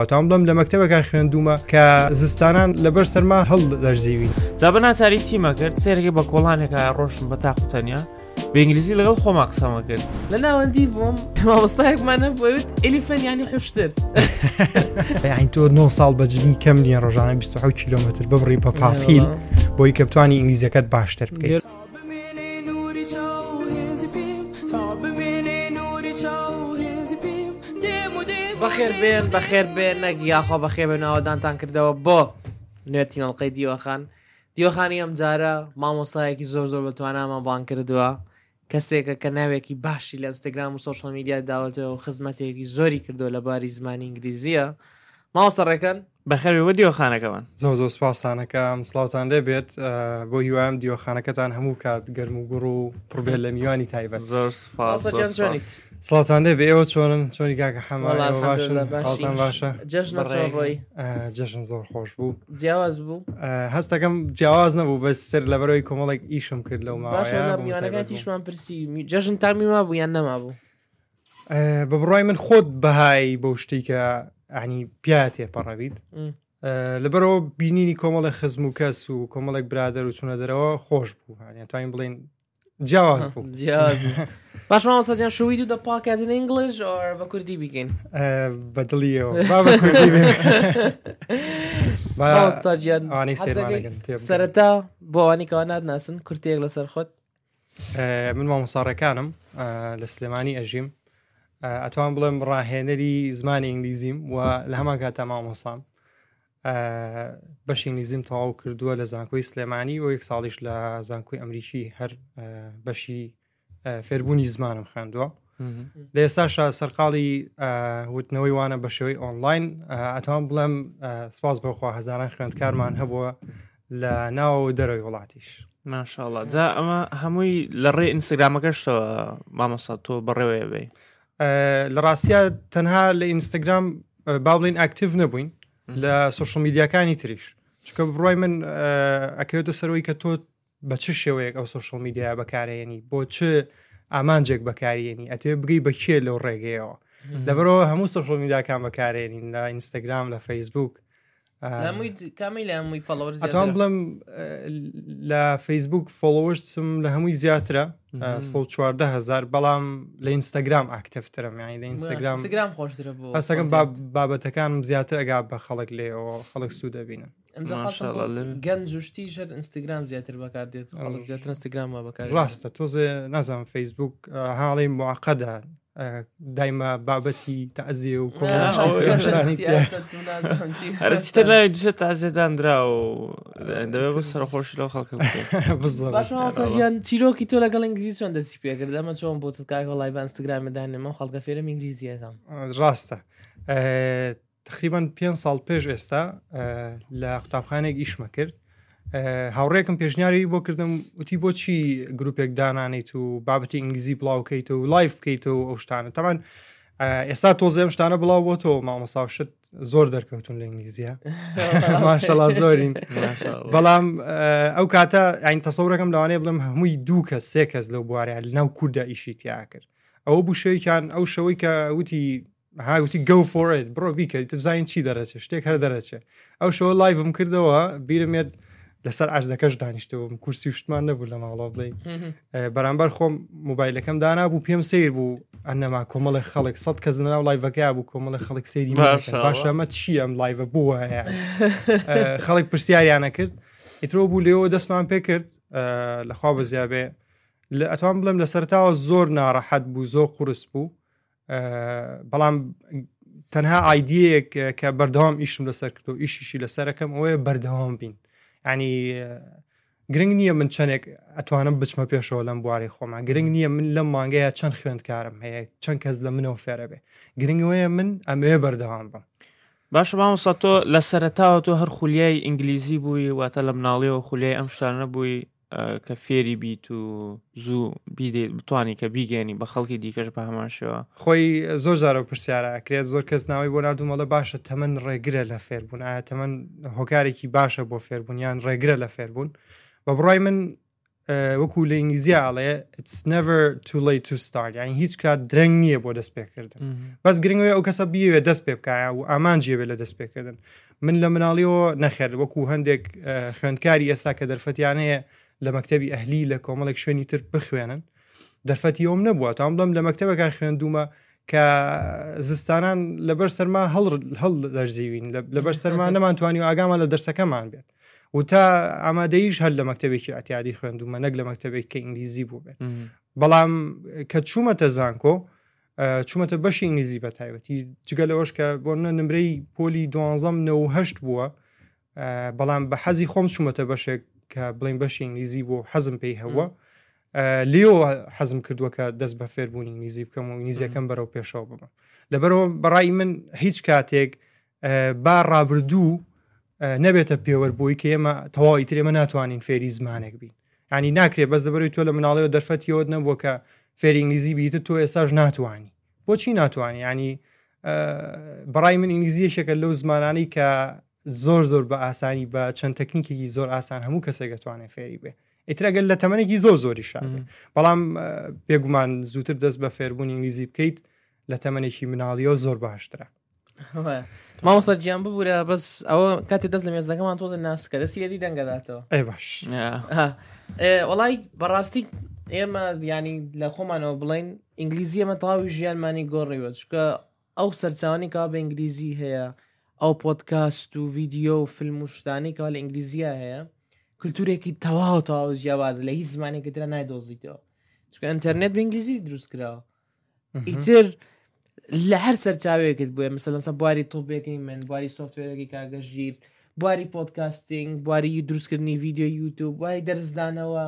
تام بڵم لە مەکتەبێکا خوێندومە کە زستانان لەبەر سەرما هەڵ دەرزیوی. جا بە ناچاری چیمە کرد سێرەکە بە کۆڵانێکە ڕۆشن بە تاق و تەنیا بە ئینگلیزی لەگەڵ خۆما قسەمە کرد. لە ناوەندی بووم مامۆستایەکمانە بۆیوت ئەلیفەن یانی حوشتر. یعنی تۆ 9 ساڵ بەجنی کەم نییە ڕۆژانە 27 کیلۆمتر ببڕی بە پاسکیل بۆی کە بتوانی ئینگلیزیەکەت باشتر بکەیت. بەخێر بێن نەگیاخوا بەخێ بێن ئاوادانتان کردەوە بۆ نوێتینەڵقەی دیوەخانی ئەم جارە مامۆستایەکی زۆر بەتوانامان بان کردووە کەسێکە کە ناوێکی باشی لە ئینستاگرام و سۆشیال میدیا داوەتەوە و خزمەتێکی زۆری کردو لە باری زمانی ئینگلیزیە. ماوەسەڕێکەکەن بەخێرەوە دیوەخانەکەمان زۆر سپاسانەکەم سڵاوتان لێبێت بۆ هیوایم دیوەخانەکەتان هەموو کات گەرم و گوڕ و پڕبێت لە میوانی تایبەت. زۆر سپاس سڵاتان لێ بێ ئێوە چۆنی کاکە حەماڵتان باشە جەژن زۆر خۆش بوو جیاواز بوو هەستەکەم جیاواز نەبوو بەستر لەبەرەوەی کۆمەڵێک ئیشم کرد لەو ماوەیە تیشمان پرسی جەژن تامیما بوو یان نەما بوو بە بڕای من خۆت بەهای بەو شتی کە عنی پیاتێ پەڕەبیت لەبەرەوە بینینی کۆمەڵی خزم و کەس و کۆمەڵێک برادر و چونە دەرەوە خۆش بوو توانین بڵین جیاواز بوو باش مامۆستاجیان شووی دوو دە پاکەزن ئینگلیش بە کوردی بیکەین بەدڵیەوە بە کوردی مامۆستاجیان سەرەتا بۆ ئەوانی کەوا نادناسن کورتێک لەسەر خۆت. من مامۆستاڕەکانم لە سلێمانی ئەژیم ئەتوان بڵێم ڕاهێنەری زمانی ئینگلیزیم و لە هەمان کاتا مامۆسام بەشی ئینگلیزیم تەواو کردووە لە زانکۆی سلێمانی و 1 ساڵیش لە زانکۆی ئەمریکی هەر بەشی فێربوونی زمانم خوێندووە. لە ئێستاشە سەرقاڵی وتنەوەی وانە بە شێوەی ئۆنلاین ئەتوان بڵێم سپاس بەخوا هەزاران خوێندکارمان هەبووە لە ناو دەرەوەی وڵاتیش. ماشاءالله. جا ئەمە هەمووی لە ڕێ ئینستاگرامەکەشتەوە مامۆستا تۆ بەڕێوەیە بێ لە ڕاستیە تەنها لە ئینستاگرام با بڵین ئاکتیڤ نەبووین لە سۆشیال میدیاکانی تریش چکە بڕای من ئەکەوێتە سەرەوەی کە تۆ بە چ شێوەیەک ئەو سۆشیال میدیا بەکارێنی بۆ چ ئامانجێک بەکارێنی ئەتێ بگەی بەکێ لەو ڕێگەیەوە لەبەرەوە هەموو سۆشیال میدیاکان بەکارێنین لە ئینستاگرام لە فەیسبوک ئەتوان بڵم لە فەیسبوک فۆلۆوەرسم لە هەمووی زیاترە 114,000 بەڵام لە ئینستاگرام ئاکتیڤترم یعنی لە ئینستاگرام خۆشترە بوو هەستەکەم بابەتەکانم زیاتر ئەگا بە خەڵک لێەوە خەڵک سوود دەبینن گەنج جوشتی شەر ئینستاگرام زیاتر بەکاردێت خەڵک زیاتر ئینستاگرام بەکار ڕاستە تۆزێ نازانم فەیسبوک هاڵی موعقەدە دایما بابەتی تەعزیە و هەرچتە ناوی دوشە تەعزیەدانرا و دەبێت بە سەرخۆشی لەو خەڵکە بکەیت. چیرۆکی تۆ لەگەڵ ئینگلیزی چۆن دەستی پێکرد ئەمە چۆن بۆ کاکە لایڤ ئینستاگرامدانێمە خەڵکە فێرم ئینگلیزیەکەم ڕاستە تقریبان 5 ساڵ پێش ئێستا لە قوتابخانێک ئیشمە کرد هاوڕێکم پێشنیاری بۆ کردم وتی بۆچی گروپێک دانانیت و بابەتی ئینگلیزی بڵاوکەیت و لایف بکەیتەوە ئەو شتانە تەمان ئێستا تۆزێم شتانە بڵاو بۆ تۆ مامۆساوشت زۆر دەرکەوتون لە ئینگلیزیە ماشەڵا زۆرین بەڵام ئەو کاتە ئاین تەسەورەکەم لەوانەیە بڵم هەمووی 2 کەس 3 کەس لەو بوارەیە لەناو کووردا ئیشی تیا کرد ئەوە بوو شەوەیەکیان ئەو شەوەی کە وتی هاوتی go for it بڕۆ بیکە تبزانین چی دەرەچێ شتێک هەر دەرەچێ ئەو شەوە لایڤم کردەوە بیرمێت لەسەر عەرزەکەش دانیشتەوە کورسی وشتمان نەبوو لە ماڵەوە بڵێ بەرامبەر خۆم مۆبایلەکەم دانابوو پێم سیر بوو ئەنەما کۆمەڵی خەڵک 100 کەس ناو لایڤەکە بوو کۆمەڵی خەڵک سەیری باشە ئەمە چی ئەم لایڤە بووە هەیە خەڵک پرسیاریانە کرد ئیترۆ بوو لێەوە دەستمان پێ کرد لەخوا بەزیابێ ئەتوان بڵێم لە سەرتاوە زۆر ناڕەحەت بوو زۆر قورس بوو بەڵام تەنها ئایدیەیەک کە بەردەوام ئیشم لەسەر کرد و ئیشیشی لەسەرەکەم ئەوەیە بەردەوام بین ینی گرنگ نییە من چەندێک ئەتوانم بچمە پێشەوە لەم بواری خۆمە گرنگ نییە من لەم مانگەیە چەند خوێندکارم هەیە چەند کەس لە منەوە فێرە بێ گرنگەوەیە من ئەمەیە بەردەوام بم. باشە مامۆستا تۆ لە سەرەتاوە تۆ هەر خولیای ئینگلیزی بووی واتە لە مناڵیەوە خولیای ئەم شتانە بووی کە فێری بیت و زوو بتوانی کە بیگەێنی بە خەڵکی دیکەش بە هەمان شێوە خۆی زۆر جارە پرسیارە کرێت زۆر کەس ناوی بۆ نردوومەڵە باشە تەمەن ڕێگرە لە فێربوون ئایا تەمەن هۆکارێکی باشە بۆ فێربوونیان ڕێگرە لە فێربوون بە بڕای من وەکو لە ئینگلیزیاڵێ it's never too late to start یعنی هیچ کات درەنگ نییە بۆ دەست پێکردن بەس گرنگەوەی ئەو کەسە بیوێ دەست پێ بکایە و ئامانجیێ بێت لە دەست پێکردن من لە مناڵیەوە نەخێر وەکو هەندێک خوێندکاری ئێستا کە دەرفەتیانەیە لە مەکتەبی ئەهلی لە کۆمەڵێک شوێنی تر بخوێنن دەرفەتی ئەوم نەبووە تام بڵم لە مەکتەبەکە خوێندومە کە زستانان لەبەر سەرما هەڵ دەرزیوین لەبەر سەرما نەمانتوانی و ئاگامان لە دەرسەکەمان بێت و تا ئامادەیش هەر لە مەکتەبێکی ئەتیادی خوێندومە نەک لە مەکتەبێک کە ئینگلیزی بوو بێت بەڵام کە چوومەتە زانکۆ چوومەتە بەشی ئینگلیزی بە تایبەتی جگە لەوەش کە بۆ نمرەی پۆلی 12 بووە بەڵام بە حەزی خۆم چوومەتە بەشێک کە بڵین بەشی ئینگلیزی بۆ حەزم پێی هەوە لێو حەزم کردووە کە دەست بە فێربوونی ئینگلیزی بکەم و ئینگلیزیەکەم بەرەو پێشەوە ببم لەبەرەوە بەڕای من هیچ کاتێک با ڕابردوو نەبێتە پێوەربووی کە ئێمە تەواوی تر ئێمە ناتوانین فێری زمانێک بین ینی ناکرێت بەس دەبەروی تۆ لە مناڵەوە دەرفەتیەوە نەبووە کە فێری ئینگلیزی بیتە تۆ ئێساش ناتوانی بۆچی ناتوانانی ینی بەڕای من ئینگلیزیەشێکە لەو زمانانی کە زۆر بە ئاسانی بە چەند تەکنیکێکی زۆر ئاسان هەموو کەسێک دەتوانێت فێری بێ ئیترەگەل لە تەمەنێکی زۆری شابێ بەڵام پێگومان زووتر دەست بە فێربوونی ئینگلیزی بکەیت لە تەمەنێکی مناڵیەوە زۆر باشترە مامۆستا گیان ببوورە بەس ئەوە کاتی دەست لە مێزەکەمان تۆزە ناسکە دەستی لێدی دەنگەداتەوە ئەی باش وەڵای بەڕاستی ئێمە ینی لە خۆمانەوە بڵین ئینگلیزی ئەمە تەواوی ژیانمانی گۆڕیوە چکە ئەو سەرچاوانی کا بە ئینگلیزی هەیە ئەو پۆدکاست و ڤیددیۆ و فیلم و شتانی کەوا لە ئینگلیزیە هەیە کولتورێکی تەواو جیاواز لە هیچ زمانێکی ترە نایدۆزیتەوە چکە ئینتەرنێت بە ئینگلیزی دروست کراوە ئیتر لە هەر سەرچاوێکت بووە مەسەلەن بواری تۆپێکی من بواری سۆفتوێرەکی کاگەژیر بواری پۆدکاستینگ بواری دروستکردنی ڤیددیۆ یوتیوب بواری دەرزدانەوە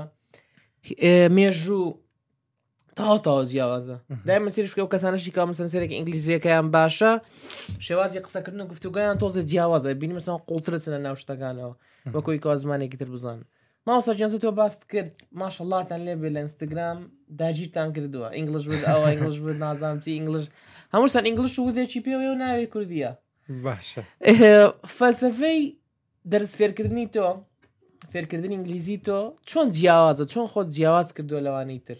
مێژوو تاوا جیاوازە دایمە سیرشکە و کەسانەشی کا مەسەنسەرێکی ئینگلیزیەکەیان باشە شێوازی قسەکردن و گفتوگویان تۆزە جیاوازە بینی مەسەڵ قوڵترە لە ناو شتەکانەوە وەکوی کا زمانێکی تر بزان ماوەسەرجیانزە تۆ باست کرد ماشەڵڵاتان لێ بێ لە ئینستاگرام داگیرتان کردووە ئینگلیش بود ئەوە ئینگلیش بود نازانم چی ئینگلیش هەمووسان ئینگلیش و وذێکی پێوێ و ناوێ کوردیە باشە فەلسفەی دەرس فێرکردنی تۆ فێرکردنی ئینگلیزی تۆ چۆن جیاوازە چۆن خۆت جیاواز کردووە لەوانەی تر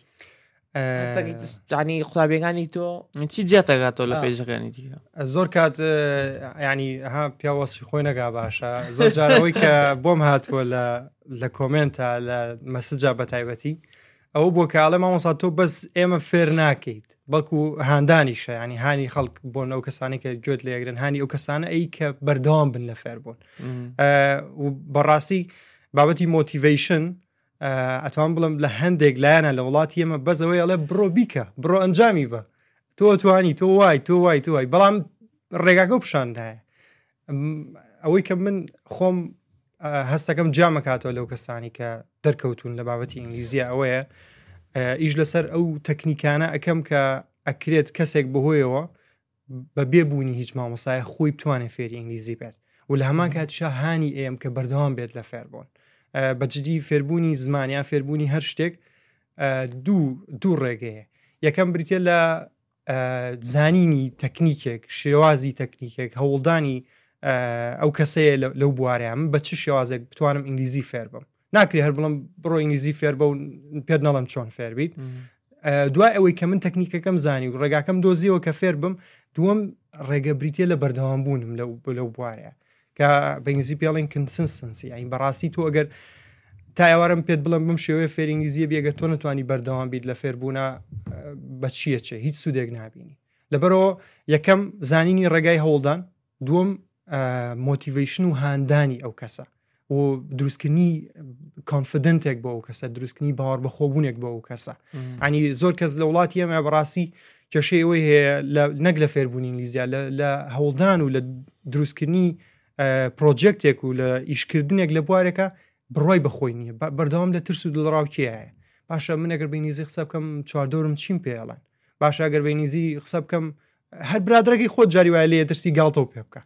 ینی قوتابیەکانی تۆ چی جیاتەگاتەوە لە پێیجەکانی دیکە زۆر کات ینی ها پیاوەسی خۆی نەگا باشە زۆر جارەوەی کە بۆم هاتووە لە کۆمنتە لە مەسجا بە تایبەتی ئەوە بۆ کاڵە مامۆستا تۆ بەس ئێمە فێر ناکەیت بەڵکو هاندانیشە ینی هانی خەڵک بۆن ئەو کەسانی کە گوێت لێگرن هانی ئەو کەسانە ئەی کە بەردەوام بن لە فێر بوون و بەڕاستی بابەتی مۆتیڤیشن ئەتوان بڵم لە هەندێک لایەنە لە وڵاتی ئێمە بەزەوەی ئەڵێ بڕۆ بیکە بڕۆ ئەنجامی بە تۆ توانی تۆ وای بەڵام ڕێگاکە پیشاندایە ئەوەی کە من خۆم هەستەکەم جامەکاتەوە لەو کەسانی کە دەرکەوتون لە بابەتی ئینگلیزیە ئەوەیە ئیش لەسەر ئەو تەکنیکانە ئەەکەم کە ئەکرێت کەسێک بەهۆیەوە بە بێبوونی هیچ مامۆسایە خۆی بتوانێت فێری ئینگلیزی بێت و لە هەمان کاتیشا هانی ئێم کە بەردەوام بێت لە فێربوون بەجددی فێربوونی زمانیان فێربوونی هەر شتێک دوو ڕێگەیە یەکەم بریتە لە زانینی تەکنیکێک شێوازی تەکنیکێک هەوڵدانی ئەو کەسەیە لەو بوارەیە من بە چ شێوازێک بتوانم ئینگلیزی فێر بم ناکری هەر بڵم بڕۆ ئینگلیزی فێر بە و پێت نەڵم چۆن فێر بیت دوای ئەوەی کە من تەکنیکەکەم زانی و ڕێگاکەم دۆزیەوە کە فێر بم دووەم ڕێگە بریتە لە بەردەوام بوونم لەو بوارەیە کە بە ئینگلیزی پێڵین کنسنسنسی یعنی بەڕاستی تۆ ئەگەر تا ئێوارم پێت بڵم بم شێوەیە فێر ئینگلیزیە بێگە تۆ نتوانی بەردەوام بیت لە فێربوونا بە چیە چێ هیچ سوودێک نابینی لەبەرەوە یەکەم زانینی ڕێگای هەوڵدان دووەم مۆتیڤیشن و هاندانی ئەو کەسە و دروستکردنی کۆنفیدنتێک بۆ ئەو کەسە دروستکردنی باوەڕ بەخۆبوونێک بۆ ئەو کەسە ینی زۆر کەس لە وڵاتی ئێمە بەڕاستی کێشەی ئەوەی هەیە نەک لە فێربوونی ئینگلیزیە لە هەوڵدان و لە دروستکردنی پرۆجێکتێک و لە ئیشکردنێک لە بوارێکە بڕۆی بەخۆی نییە بەردەوام لە ترس و دڵڕاوکیایە باشە من ئەگەر بەینیزی قسە بکەم چواردۆرم چیم پێڵێن باشە ئەگەر بەینیزی قسە بکەم هەر برادرەکەی خۆت جاری وایە لێ ترسی گاڵتەوە پێ بکە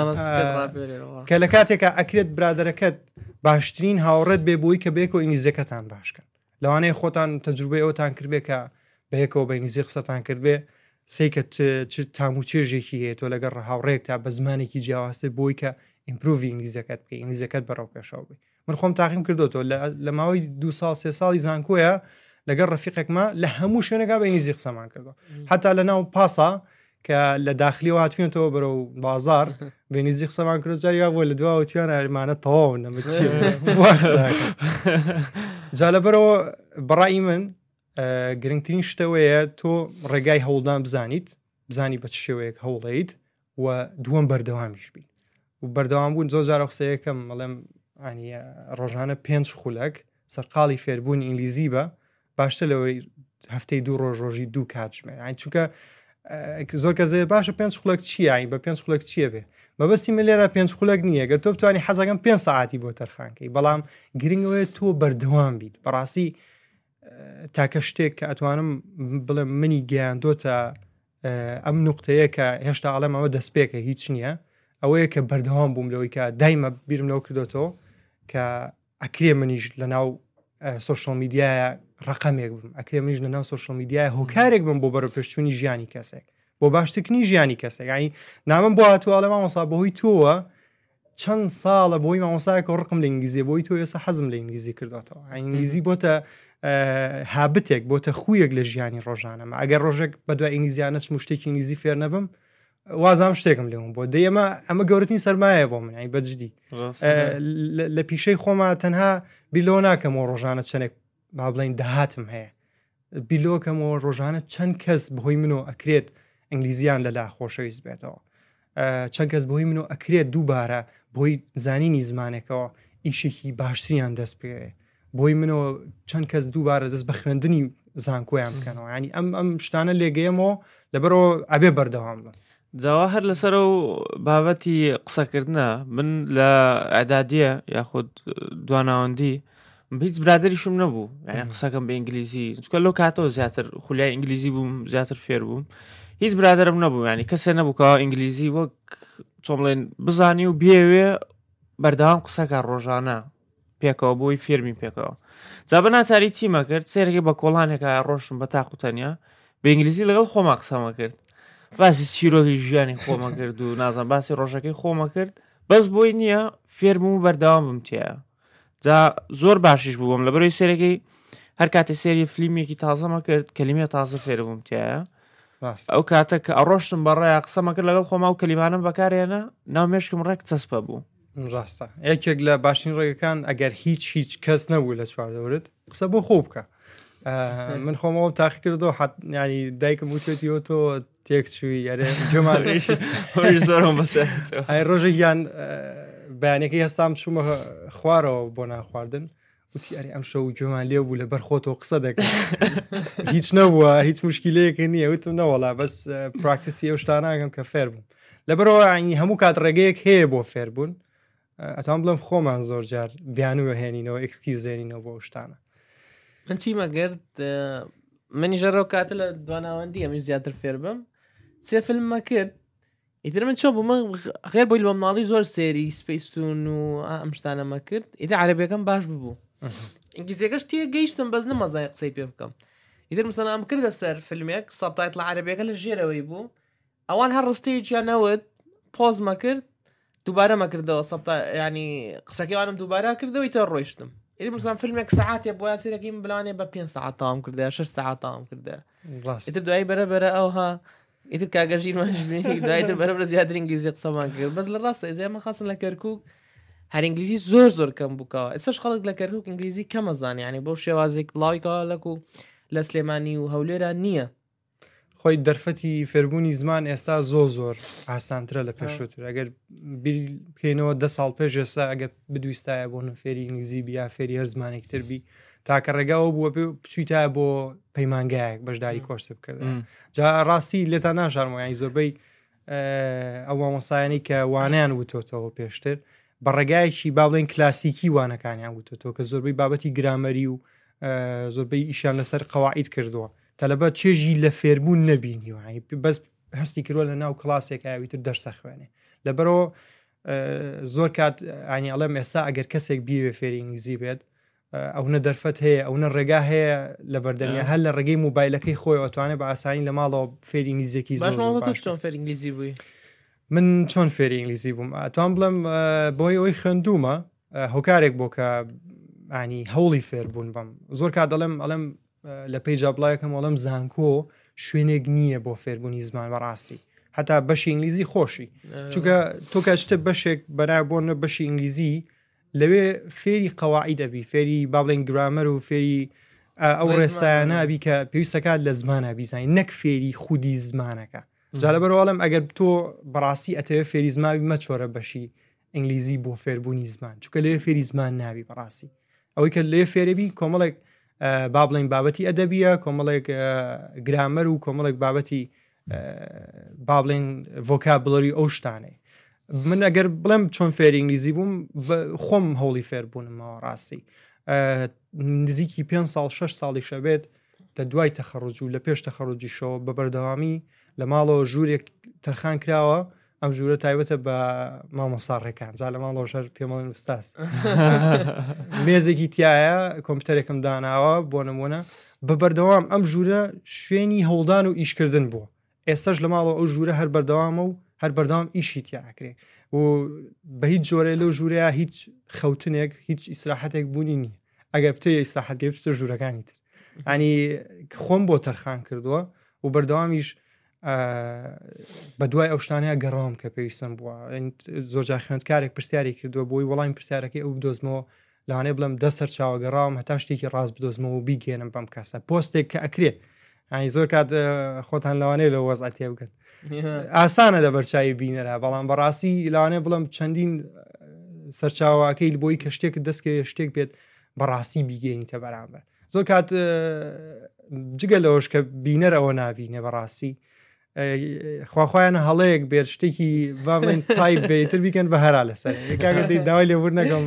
کە لە کاتێکە ئەکرێت برادەرەکەت باشترین هاوڕێت بێ بۆی کە بێک و ئینگلیزیەکەتان باشکەن لەوانەیە خۆتان تەجروبەی ئەوتان کردبێ کە بەیەکەوە بەینیزی قسەتان کردبێ سیکە تام و چێژێکی هەیە تۆ لەگەڕ هاوڕێک تا بە زمانێکی جیاوازتر بۆی کە ئیمپروڤی ئینگلیزیەکەت بکەی ئینگلیزیەکەت بەڕاو پێشەوە بێ من خۆم تاقیم کردوەوە لە ماوەی 2 ساڵ 3 ساڵی زانکۆیە لەگەڵ ڕەفیقێکمە لە هەموو شوێنێکا بە ئینگلیزی قسەمان کردەوە حتا لە ناو پاسا کە لە داخلیەوە هاتوێنەوە بەرەو بازار بە ئینگلیزی قسەمان کرد جاریا بۆ لە دواوەتیان ئەرمانە تەواو جا لەبەرەوە بەڕای من گرنگترین شتەوەیە تۆ ڕێگای هەوڵدان بزانی بە چ شێوەیەک هەوڵیت و دووەم بەردەوامیش بیت و بەردەوام بوون زۆر جارە قسەیەکەم مەڵێم ڕۆژانە 5 خولەک سەرقاڵی فێربوونی ئینگلیزی بە باشتر لەوەی هەفتەی 2 ڕۆژی 2 کاتژمێر چونکە زۆر کەسێ باشە 5 خولەک چیە بە 5 خولەک چیە بێ مەبەستی من لێرە 5 خولەک نییە گە تۆ بتوانانی حەزەکەم 5 ساعتی بۆ تەرخانکەی بەڵام گرنگەوەی تۆ بەردەوام بیت بەڕاستی تاکە شتێک کە ئەتوانم بڵێم منی گەیاندۆتە ئەم نوقتەیە کە هێشتا ئەڵێم ئەوە دەستپێکە هیچ نییە ئەوەیە کە بەردەوام بووم لەوەی کە دایمە بیرم لەوە کردوەوە کە ئەکرێ منیش لە ناو سوشال میدیایە ڕقەمێک بم ئەکرێ منیش لە ناو سوشال میدیایە هۆکارێک بم بۆ بەرەپێشچوونی ژیانی کەسێک بۆ باشترکردنی ژیانی کەسێک یعنی نامم بۆ هاتووە لە مامۆستا بەهۆی تۆوە چەند ساڵە بۆی مامۆسایەکە ڕقم لە ئینگلیزی بۆی تۆ ئێستا حەزم لە ئینگلیزی کردوەوە ئینگلیزی بۆتە هابتێک بۆتە خویەک لە ژیانی ڕۆژانەمە ئەگەر ڕۆژێک بەدوای ئینگلیزیانە شتێکی ئینگلیزی فێر نەبم وازام شتێکم لێم بۆ دەیەمە ئەمە گەورەترین سەرمایە بۆ من بەجددی لە پیشەی خۆمە تەنها بیلۆ ناکەمەوە ڕۆژانە چەندێک با بڵین داهاتم هەیە بیلۆکەمەوە ڕۆژانە چەند کەس بەهۆی منەوە ئەکرێت ئینگلیزیان لەلا خۆشەویست بێتەوە چەند کەس بەهۆی منەوە ئەکرێت دووبارە بۆی زانینی زمانێکەوە ئیشێکی باشتریان دەست پێ بۆی منەوە چەند کەس دووبارە دەست بە خوێندنی زانکۆیان بکەنەوە ینی ئەم شتانە لێگەیەمەوە لەبەرەوە ئەبێ بەردەوام بن جاوا هەر لەسەر و بابەتی قسەکردنە من لە ئەعدادیە یاخود دواناوەندی هیچ برادریشم نەبوو یعنی قسەکەم بە ئینگلیزی چکە لەو کاتەوە زیاتر خولیای ئینگلیزی بووم زیاتر فێر بووم هیچ برادرم نەبوو ینی کەسێ نەبوو کەوا ئینگلیزی وەک چۆمڵێن بزانی و بێوێ بەردەوام قسەکە ڕۆژانە پێکەوە بۆی فێرمی پێکەوە جا بە ناچاری چیمە کرد سێرەکەی بە کۆڵانێکە ڕۆشتم بە تاقوتەنیا بە ئینگلیزی لەگەڵ خۆما قسەمە کرد باسی چیرۆکی ژیانی خۆمە کرد و نازان باسی ڕۆژەکەی خۆمە کرد بەس بۆی نییە فێرم و بەردەوام بم تایە جا زۆر باشیش بووم لە بەرەوەی سێرەکەی هەر کاتێ سێری فلیمێکی تازەمە کرد کەلیمە تازە فێربووم تایە ئەو کاتە کە ئەڕۆشتم بەڕێە قسەمە کرد لەگەڵ خۆما و کەلیمانم بەکارێنە ناو مێشکم ڕێک چەسپە بوو ڕاستە یەکێک لە باشترین ڕێگەکان ئەگەر هیچ کەس نەبوو لە چواردەورت قسە بۆ خۆ بکە من خۆمەوە تاقی کردەوە ینی دایکم وتێتیەوە تۆ تێکچووی یارێ زۆرم بەسەر ئای ڕۆژێکیان بەیانەکەی هەستام چوومە خوارەوە بۆ ناخواردن وتی ئەری ئەم شەو گوێمان لێ بوو لەبەر خۆتەوە قسە دەکەن هیچ نەبووە هیچ مشکلەیەکی نییە وتم نەوەڵا بەس پراکتیسی ئەو شتاناگەم کە فێر بووم لەبەرەوە ینی هەموو کات ڕێگەیەک هەیە بۆ فێربوون ئەتوان بڵم خۆمان زۆر جار بیانوە هێنینەوە ئەکسکیوزێنینەوە بۆ شتانە من چیمە گرت منی ژەڕەوە کاتە لە دواناوەندی ئەمی زیاتر فێر بم سێ فیلممە کرد ئیتر من چۆ بوومە غێر بۆی لە مناڵی زۆر سێری سپەیستون و ئەم شتانەمە کرد ئیتر عەرەبیەکەم باش ببوو ئینگلیزیەکەش تێ گەیشتم بەس نەمەزای قسەی پێ بکەم ئیتر مەسەڵەن ئەم کردە سەر فیلمێک سەبتایتڵ عەرەبیەکە لە ژێرەوەی بوو ئەوان هەر ڕستەیەکیان نەوت پۆزمە کرد دووبارە مەکردەوە ینی قسەکەوانم دووبارە کردەوەی تە ڕۆیشتم ئیتر مەسەڵەن فیلمێک سەعاتێ بۆ یاسیرەکەی من بلانێ بە 5 ساعت تاوام کردە 6 ساعت تاوام کردە ئیتر دوایی بەرەبەرە ئەوها ئیتر کاگەژیرمانژبێنی دوایتر بەرەبرە زیاتر ئینگلیزی قسەمان کرد بەس لە ڕاستە ئێزێمە خاصن لە کەرکووک هەر ئینگلیزی زۆر کەم بووکەوە ئێستاش خەڵک لە کەرکووک ئینگلیزی کەمەزانانی ینی بۆ شێوازێک بڵاویکەوە لەکو لە سلێمانی و هەولێرە نییە خۆی دەرفەتی فێربوونی زمان ئێستا زۆر ئاسانترە لە پێشووتر ئەگەر بکەینەوە 10 ساڵ پێش ئێستا ئەگەر بدویستایە بۆ فێری ئینگلیزی بیا فێری هەر زمانێکتر بی تاکە ڕێگاوە بووە بچیتە بۆ پەیمانگایەک بەشداری کۆرسە بکرد جا ڕاستی لێتان ناشارمەوە زۆربەی ئەو مامۆسایانی کە وانیان وتۆتەوە پێشتر بە ڕێگایەکی با بڵێن کلاسیکی وانەکانیان وتۆتەوە کە زۆربەی بابەتی گرامەری و زۆربەی ئیشان لەسەر قەواعید کردووە تەلەبەت چێژی لە فێربوون نەبینیوە بەس هەستی کردووە لە ناو کلاسێک ئاویتر دەرسە خوێنێ لەبەرەوە زۆر کات ئانی ئەڵێم ئێستا ئەگەر کەسێک بیوێ فێری ئینگلیزی بێت ئەوە دەرفەت هەیە ئەوە ڕێگا هەیە لە بەردەمیە هەر لە ڕێگەی موبایلەکەی خۆی ئەتوانێت بە ئاسانی لە ماڵەوە فێری ئینگلیزیەکی چۆن فێر ئینگلیزی بووی من چۆن فێری ئینگلیزی بووم ئەتوان بڵم بۆی ئەوەی خوێندومە هۆکارێک بۆ کە ینی هەوڵی فێربوون بم زۆر کات ئەڵێم لە پێیج بڵایەکەم وەڵام زانکۆ شوێنێک نییە بۆ فێربوونی زمان بەڕاستی حتا بەشی ئینگلیزی خۆشی چونکە تۆ کاتشتە بەشێک بەنابۆنە بەشی ئینگلیزی لەوێ فێری قەواعی دەبی فێری با بڵێن گرامەر و فێری ئەو ڕێسایانابی کە پێویستەکات لە زمانە بیزانین نەک فێری خودی زمانەکە جا لەبەرەوەڵم ئەگەر تۆ بەڕاستی ئەتەوێ فێری زماوی مەچۆرە بەشی ئینگلیزی بۆ فێربوونی زمان چونکە لێ فێری زمان نابی بەڕاستی ئەوەی کە لێ فێرەبی کۆمەڵێک با بڵێن بابەتی ئەدەبیە کۆمەڵێک گرامەر و کۆمەڵێک بابەتی با بڵێن ڤۆکابڵەری ئەو شتانەی من ئەگەر بڵێم چۆن فێری ئینگلیزی بووم خۆم هەوڵی فێربوونمەوە ڕاستی نزیکی 5 ساڵ 6 ساڵی شەبێت لە دوای تەخەڕوج و لە پێش تەخەڕوجیشەوە بە بەردەوامی لە ماڵەوە ژوورێک تەرخان کراوە ئەم ژوورە تایبەتە بە مامۆساڕێکان جا لە ماڵەوە شەر پێمەڵێن ئوستاس مێزێکی تایە کۆمپیوتەرێکم داناوە بۆ نمونە بە بەردەوام ئەم ژوورە شوێنی هەوڵدان و ئیشکردن بووە ئێستاش لە ماڵەوە ئەو ژوورە هەر بەردەوامە و هەر بەردەوام ئیشی تیاکرێ و بە هیچ جۆرە لەو ژوورەیە هیچ خەوتنێک هیچ ئیسراحەتێک بوونی نییە ئەگەر بتێ ئیسراحەتگەی بتە ژوورەکانی تر ینی خۆم بۆ تەرخان کردووە و بەردەوامیش بە دوای ئەو شتانەیە گەڕام کە پێویستم بووە زۆرجار خوێندکارێک پرسیاری کردووە بۆی وەڵامی پرسیارەکەی ئەو بدۆزمەوە لەوانەیە بڵم دە سەر چاوە گەڕام هەتا شتێکی ڕاست بدۆزمەوە و بیگێنم بەم کەسە پۆستێک کە ئەکرێ ینی زۆر کات خۆتان لەوانەیە لە وەزعەت تێ بگەن ئاسانە لە بەرچاوی بینەرە بەڵام بەڕاستی لەوانەیە بڵم چەندین سەرچاوەکەی بۆی کە شتێک دەستکە شتێک بێت بەڕاستی بیگەینیتە بەرامبەر زۆر کات جگە لەوەش کە بینەرەوە نابینێ بەڕاستی خواخوایانە هەڵەیەک بێت شتێکی باڵێن تایپ بێتتر بیکەن بە هەرا لەسەر کاگە داوای لێور نەگەم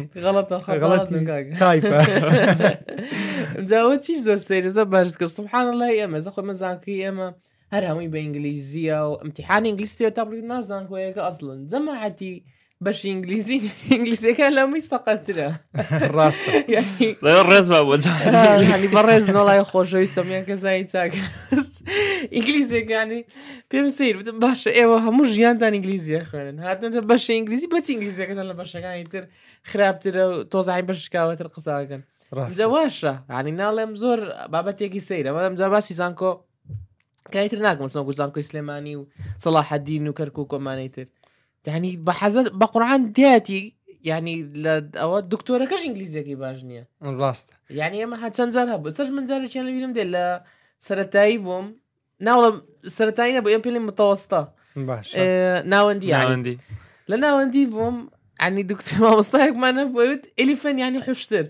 جاوە چیش زۆر سێرزە بەرز کرد سبحان الله ئێمە زە خۆ مەزانکەی ئێمە هەر هەمووی بە ئینگلیزیە و ئەمتیحانی ئینگلیزیە تا بڵێت نازانکۆیەکە ئەسڵن جەماعەتی بەشی ئینگلیزی ئینگلیزیەکە لەمەی سەقەترە ڕاستە ڕێز بە بەڕێز نەڵای خۆشەویستەمیان کەسایی چاک ئینگلیزیەکانی پێم سیر بتم باشە ئێوە هەموو ژیانتان ئینگلیزیە خوێنن هاتنە بەشە ئینگلیزی بەچی ئینگلیزیەکەتان لە بەشەکانی تر خراپترە و تۆزای بەشکاوەتر قساکەن جەواشە عنی ناڵێم زۆر بابەتێکی سەیرە مەدەم جا باسی زانکۆ کایتر ناکەم سەوەکو زانکۆی سلێمانی و سەلاحەدین و کەرکووک و کۆمانەی تر يعني بحزت بقرآن دياتي يعني أو الدكتورة كاش إنجليزية كي باجنية راست يعني ما حد سنزارها بس من زارو كان بيلم دل لا سرتايبهم ناولا سرتاينا بيم بيلم متوسطة باش ناوندي يعني ناوندي لا ناوندي بهم يعني دكتور ما مستحق ما نبويت إليفن يعني حشتر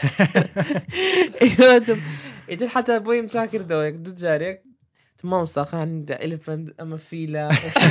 إذا حتى بوي مساكر دويك دو جاريك ما مستحق عند إليفن أما فيلا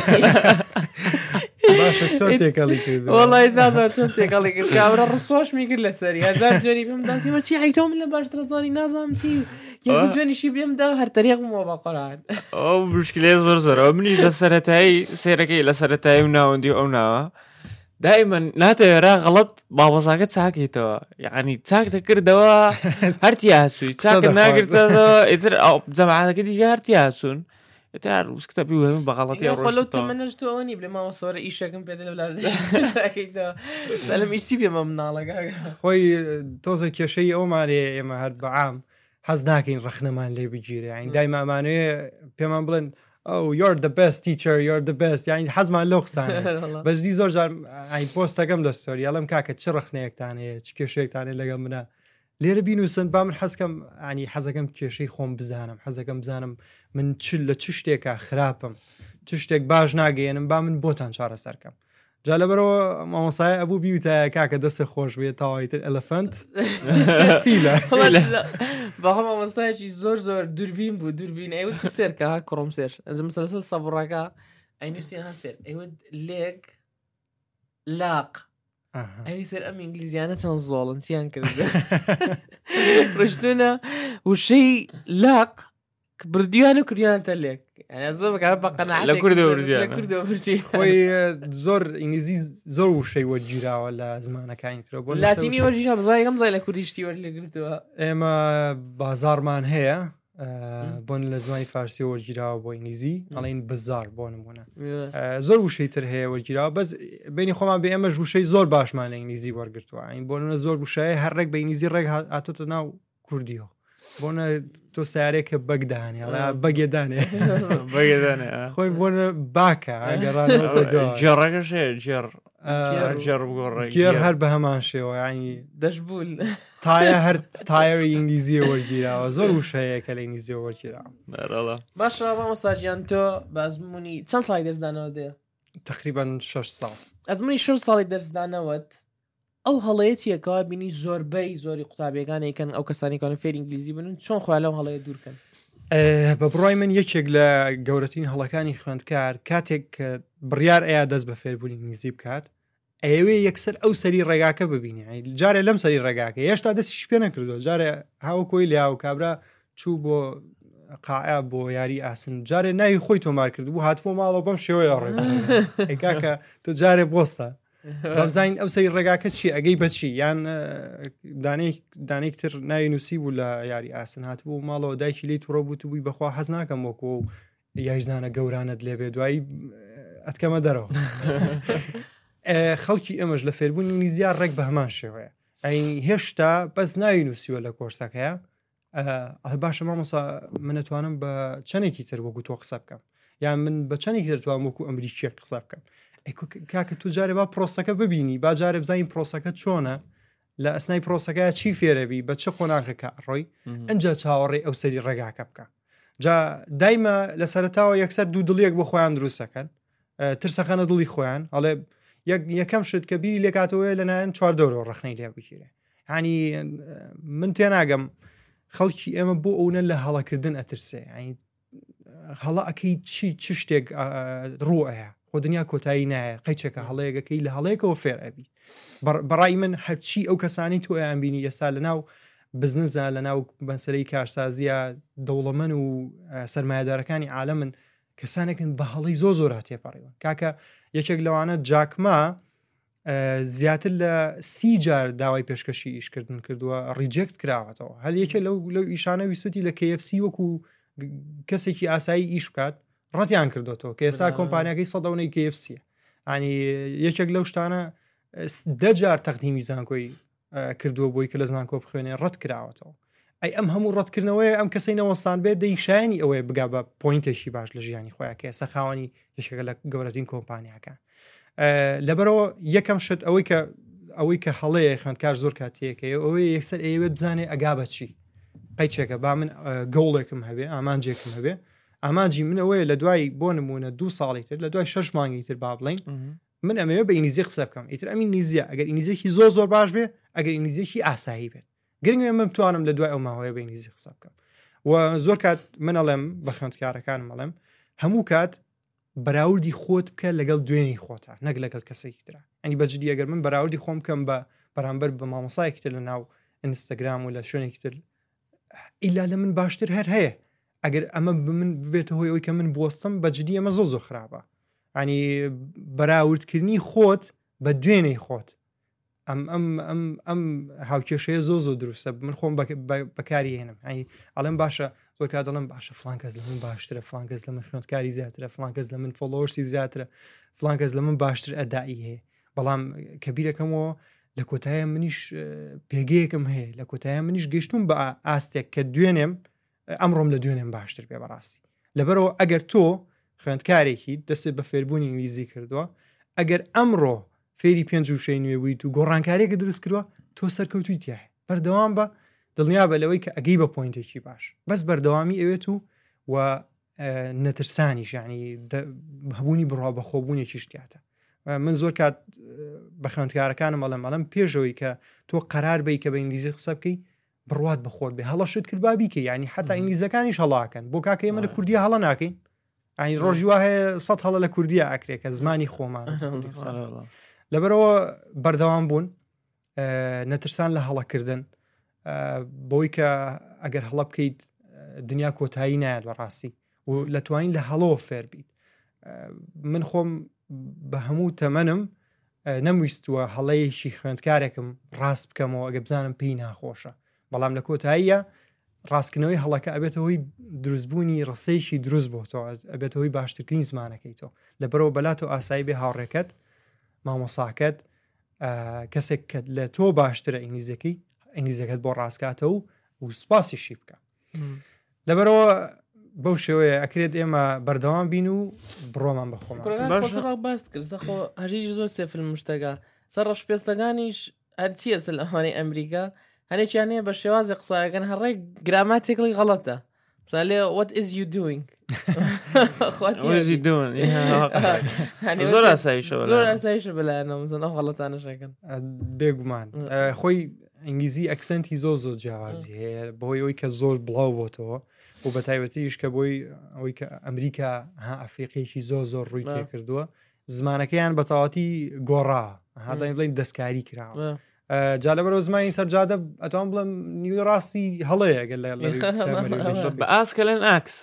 باشە چۆن تێکەڵی کرد والله نازانم چۆن تێکەڵی کرد کابرا ڕسوۆش میکرد لەسەری هەزار جوێنی پێم داتی مەچی هەیتۆ من لە باشتر زانی نازانم چی یەکی دوێنیشی پێمدا هەر تەریقمەوە بە قورئان ئەو مشکلەیە زۆر زۆرەوە منیش لە سەرەتایی سێرەکەی لە سەرەتایی و ناوەندی ئەو ناوە دائما ناتەوێرا غەڵەت بابەزاکە چاکیتەوە یعنی چاکتە کردەوە هەرتی هاتووی چاکت ناگرتەوە ئیتر جەماعەتەکە دیکە هەرتی هاتوون تار وسكتبي وهم بغلطي او خلو تمنجت اوني بلا ما صور ايشكم بيدل بلا اكيد سلام ايش سي ما منالك خوي توزه كشي او ماري ما هاد بعام حزناكين رخنمان لي بيجيري يعني دايما ماني بيمان بلن او you're the best teacher you're the best يعني حزمان لوخسان بس دي زور جار يعني بوستاكم للستوري يلم كاكا تشرخنيك تاني تشكيشيك تاني لقى منا لێرە بینوسن با من حەزکەم ینی حەزەکەم کێشەی خۆم بزانم حەزەکەم بزانم من لە چ شتێکە خراپم چ شتێک باش ناگەێنم با من بۆتان چارەسەرکەم جا لەبەرەوە مامۆسای ئەبوو بیوتە کاکە دەستە خۆش بێت تاوایتر ئەلەفەنت فیلە باخە مامۆستایەکی زۆر زۆر دووربین بوو دووربین ئەیوت سێرکە کوڕم سێر ئەنجم سەلسل سەبڕەکە ئەینوسیان سێر ئەیوت لێک لاق ئەوی سەر ئەم ئینگلیزیانە چەند زۆڵن چیان کرد ڕشتونە وشەی لاق بردیوان و کردیانتە لێک زۆر بەکە بە قەناعەت لە کوردەوە بردی خۆی زۆر ئینگلیزی زۆر وشەی وەرگیراوە لە زمانەکانی ترە بۆ لاتینی وەرگیرا بزای گەم زای لە کوردیشتی وەرلێگرتووە ئێمە بازارمان هەیە بۆن لە زمانی فارسی وەرگیراوە بۆ ئینگلیزی ئەڵێن بزار بۆ نمونە زۆر وشەی تر هەیە وەرگیراوە بەس بینی خۆمان بێ ئەمەش وشەی زۆر باشمان لە ئینگلیزی وەرگرتووە این بۆنە زۆر وشایە هەر ڕێک بە ئینگلیزی ڕێک هاتۆتە ناو کوردیەوە بۆنە تۆ سیارێکە بەگدانێ بەگێدانێ خۆی بۆنە باکە جێڕەکەش گێر هەر بە هەمان شێوە ینی دەشبول تایە هەر تایری ئینگلیزیە وەرگیراوە زۆر وشەیە کە لە ئینگلیزیە وەرگیراوە باشە مامۆستاجیان تۆ بە ئەزمموی چەند ساڵی دەرزدانەوە دێ تقریبا 6 ساڵ ئەزمموی 6 ساڵی دەرزدانەوەت ئەو هەڵەیەتی یەکەوە بینی زۆربەی زۆری قوتابیەکانێکن ئەو کەسانێکانە فێر ئینگلیزی بن چۆن خۆیان لەو هەڵەیە دوورکەن بە بڕای من یەکێک لە گەورەترین هەڵەکانی خوێندکار کاتێک کە بڕیار ئەیە دەست بە فێربوونی ئینگلیزی بکات ئەوێ یەکسەر ئەو سەری ڕێگاکە ببینی جارێ لەم سەری ڕێگاکە هێشتا دەستیش پێ نەکردو جارێ هاو کۆی لیا و کابرا چوو بۆ قاعە بۆ یاری ئاسن جارێ ناوی خۆی تۆمار کرد بوو هاتبوو ماڵەوە بەم شێوەیە ڕێکاکە تۆ جارێ بۆستە بەبزین ئەو سەری ڕێگاکە چی ئەگەی بەچی یان دانێکتر ناوی نووسی بوو لە یاری ئاسن هاتبوو ماڵەوە دایکی لی تووڕە بوو بووی بەخوا حەز ناکەم وەکو و یاریزانە گەورانت لێبێ دوایی ئەتکەمە دەرەوە خەڵکی ئەمەش لە فێربوونی ئینگلیزیە ڕێک بە هەمان شێوەیە ئەین هێشتا بەس ناوی نووسیوە لە کۆرسەکەیە ئەڵێ باشە مامۆستا من ئەتوانم بە چەندێکی تر وەکو تۆ قسە بکەم یان من بە چەندێکی دەتوانم وەکو ئەمریکیە قسە بکەم کاکە تو جارێ با پرۆسەکە ببینی با جارێ بزانین پرۆسەکە چۆنە لە ئەسنای پرۆسەکە چی فێرەبی بە چه قۆناغەکە ڕۆی ئەنجا چاوەڕێ ئەو سەری ڕێگاکە بکە جا دایمە لە سەرتاوە یەکسەر دوو دڵیەک بۆ خۆیان دروستەکەن ترسەکەنە دڵی خۆیان ئەڵێ یەکەم شت کە بیری لێکاتەوەی لەنایەن چواردەوە ڕخنەی لێ بکیرێ ینی من تێناگەم خەڵکی ئێمە بۆ ئەوە لە هەڵەکردن ئەترسێ ینی هەڵە ئەەکەی چی شتێک ڕوئەیە خۆ دنیا کۆتایی نایە قەیچێکە هەڵەیەکەکەی لە هەڵەیەکەوە فێر ئەبی بەڕای من هەرچی ئەو کەسانی تۆ ئەیان بینی ئێستا لە ناو بزنسە لە ناو بەسەرەی کارسازیە دەوڵەمەن و سەرمایه‌دارەکانی عالەمن کەسانێکن بە هەڵی زۆر هاتێپەڕیوە کاکە یەکێک لەوانە جاکما زیاتر لە 30 جار داوای پێشکەشی ئیشکردن کردووە ڕیجێکت کراوەتەوە هەل یەکێ لەو ئیشانە ویسوتی لە KFC وەکو کەسێکی ئاسایی ئیش بکات ڕەتیان کردوەوە کە ئێستا کۆمپانیەکەی سەدەونەی KFCە ینی یەکێک لەو شتانە 10 جار تەقدیمی زانکۆی کردووە بۆی کە لە زانکۆ بخوێنێ ڕەت کراوەتەوە ئەی ئەم هەموو ڕەتکردنەوەی ئەم کەسەی نەوەستان بێت دەیشایانی ئەوەیە بگا بە پۆینتێکی باش لە ژیانی خۆیان کە ئێستا خاوەنی یەکێکە لە گەورەترین کۆمپانیاکان لەبەرەوە یەکەم شت ئەوەی کە هەڵەیە خوێندکار زۆر کاتێکەیە ئەوەی یەکسەر ئەوێت بزانێ ئەگا بە چی قەیچێکە با من گەوڵێکم هەبێ ئامانجێکم هەبێ ئامانجی من ئەوەیە لە دوای بۆ نمونە 2 ساڵی تر لە دوای 6 مانگی تر با بڵین من ئەمەوێ بە ئینگلیزی قسە بکەم ئیتر ئەمین نیزیە ئەگەر ئینگلیزیێکی زۆر باش بێ ئەگەر ئینگلیزیێکی ئاسایی بێت گرنگێ من بتوانم لە دوای ئەو ماوەیە بە ئینگلیزی قسە بکەم و زۆر کات من ئەڵێم بە خوێندکارەکانم ئەڵێم هەموو کات بەراوردی خۆت بکە لەگەڵ دوێنی خۆتە نەک لەگەڵ کەسێکی ترە ئەنی بەجددی ئەگەر من بەراوردی خۆم بکەم بە بەرامبەر بە مامۆسایەکی تر لە ناو ئینستاگرام و لە شوێنێکی تر ئیلا لە من باشتر هەر هەیە ئەگەر ئەمە من ببێتە هۆی ئەوی کە من بوەستم بەجددی ئەمە زۆر خراپە ینی بەراوردکردنی خۆت بە دوێنەی خۆت ئەم هاوکێشەیە زۆر دروستە من خۆم بەکاری هێنم ینی ئەڵێم باشە زۆر کات دەڵێم باشە فلان کەس لە من باشترە فلان کەس لە من خوێندکاری زیاترە فلان کەس لە من فۆلۆورسی زیاترە فلان کەس لە من باشتر ئەدایی هەیە بەڵام کەبیرەکەمەوە لە کۆتایە منیش پێگەیەکم هەیە لە کۆتایە منیش گەشتوم بە ئاستێک کە دوێنێم ئەمڕۆم لە دوێنێم باشتر پێ بەڕاستی لەبەرەوە ئەگەر تۆ خوێندکارێکی دەستێت بە فێربوونی ئینگلیزی کردووە ئەگەر ئەمڕۆ فێری 5 وشەی نوێ بوویت و گۆڕانکارێکە دروست کردووە تۆ سەرکەوتوی تایە بەردەوام بە دڵنیا بە لەوەی کە ئەگەی بە پۆینتێکی باش بەس بەردەوامی ئەوێت و نەترسانیش ینی هەبوونی بڕوا بە خۆبوونێکی شتیاتە من زۆر کات بە خوێندکارەکانم ئەڵێم پێشەوەی کە تۆ قەرار بی کە بە ئینگلیزی قسە بکەی بڕوات بەخۆت بێ هەڵەشت کرد بابیکە ینی حتا ئینگلیزەکانیش هەڵاکەن بۆ کاکە ئێمە لە کوردی هەڵە ناکەین ئەنی ڕۆژی وا هەیە 100 هەڵە لە کوردیە ئاکرێکە زمانی خۆمان لەبەرەوە بەردەوام بوون نەترسان لە هەڵەکردن بۆی کە ئەگەر هەڵە بکەیت دنیا کۆتایی نایەت بەڕاستی و لە توانین لە هەڵەوە فێر بیت من خۆم بە هەموو تەمەنم نەمویستووە هەڵەیەکی خوێندکارێکم ڕاست بکەمەوە ئەگە بزانم پێی ناخۆشە بەڵام لە کۆتاییە ڕاستکردنەوەی هەڵەکە ئەبێتەوەی دروستبوونی ڕسەیەکی دروست بۆ تۆ ئەبێتەوەی باشترکردنی زمانەکەی تۆ لەبەرەوە بەلاتەوە ئاسایی بێ هاوڕێکەت مامۆساکەت کەسێک کە لە تۆ باشترە ئینگلیزەکەت بۆ ڕاستکاتەوە و سوپاسیشی بکە لەبەرەوە بەو شێوەیە ئەکرێت ئێمە بەردەوام بین و بڕۆمان بەخۆمان باست کرد خۆ هەژی زۆر سێفلم شتەکە سەر ڕەشپێستەکانیش هەرچی ئەستە لە ئەوانەی ئەمریکا هەرێکیانەیە بە شێوازی قسایەکەن هەڕێ گراماتێکڵی غەڵەتە لێ what is you doing زۆر ئاسایشە بەلایەنەوە غەڵەتانەشەکەن بێگومان خۆی ئینگلیزی ئەکسنتی زۆر جیاوازی هەیە بۆی ئەوی کە زۆر بڵاو بۆتەوە و بە تایبەتیش کە بۆی ئەوەی کە ئەمریکا ئەفریقیەکی زۆر ڕووی تێکردووە زمانەکەیان بە تەواتی گۆڕا هاتانی بڵین دەستکاری کراوە جا لەبەرەوە زمانی سەرجادە ئەتوان بڵم نیوی ڕاستی هەڵەیە گەل بە ئاسکە لەن ئاکس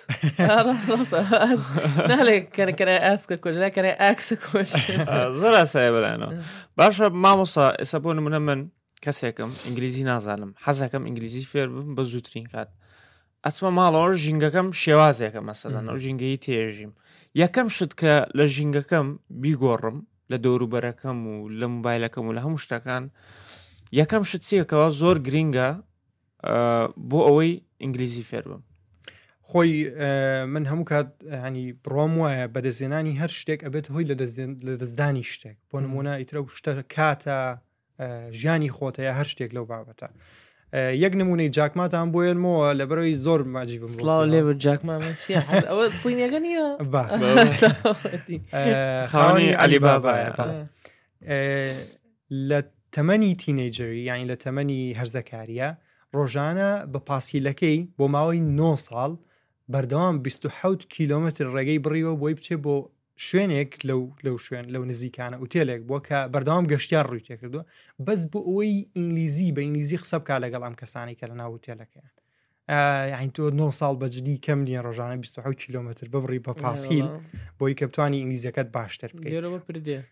نالێک کەرە ئاسکە کوژە کەرە ئاکسە کوش زۆر ئاسایە بەلایەنەوە باشە مامۆستا ئێستا بۆ نمونە من کەسێکم ئینگلیزی نازانم حەزەکەم ئینگلیزی فێر بم بە زووترین کات ئەچمە ماڵەوە ژینگەکەم شێوازێکە مەسەلەن ئەو ژینگەی تێژیم یەکەم شت کە لە ژینگەکەم بیگۆڕم لە دەوروبەرەکەم و لە موبایلەکەم و لە هەموو شتەکان یەکەم شت چیەکەوە زۆر گرینگە بۆ ئەوەی ئینگلیزی فێر بم خۆی من هەموو کات هەنی بڕۆم وایە بەدەستێنانی هەر شتێک ئەبێت هۆی لە دەستدانی شتێک بۆ نمونە ئیترە شتە کاتە ژیانی خۆتەیە هەر شتێک لەو بابەتە یەک نمونەی جاکماتان بۆێنمەوە لە بەرەوەی زۆر ماجی بم سڵاو لێ بە جاکمامەشیە ئەوە سینەکە نییە خاوەنی عەلیبابایە لە تەمەنی تینەیجەری یانی لە تەمەنی هەرزەکاریە ڕۆژانە بە پاسیلەکەی بۆ ماوەی 9 ساڵ بەردەوام 27 کیلۆمتر ڕێگەی بڕیوە بۆی بچێ بۆ شوێنێک لەو شوێن لەو نزیکانە ئوتێلێک بووە کە بەردەوام گەشتیار ڕووی تێکردووە بەس بۆ ئەوەی ئینگلیزی بە ئینگلیزی قسە بکات لەگەڵ ئەم کەسانی کە لە ناو ئوتێلەکەیان یعنی تۆ 9 ساڵ بەجددی کەم نیە ڕۆژانە 27 کیلۆمتر ببڕی بە پاسیل بۆی کە بتوانی ئینگلیزیەکەت باشتر بکەیت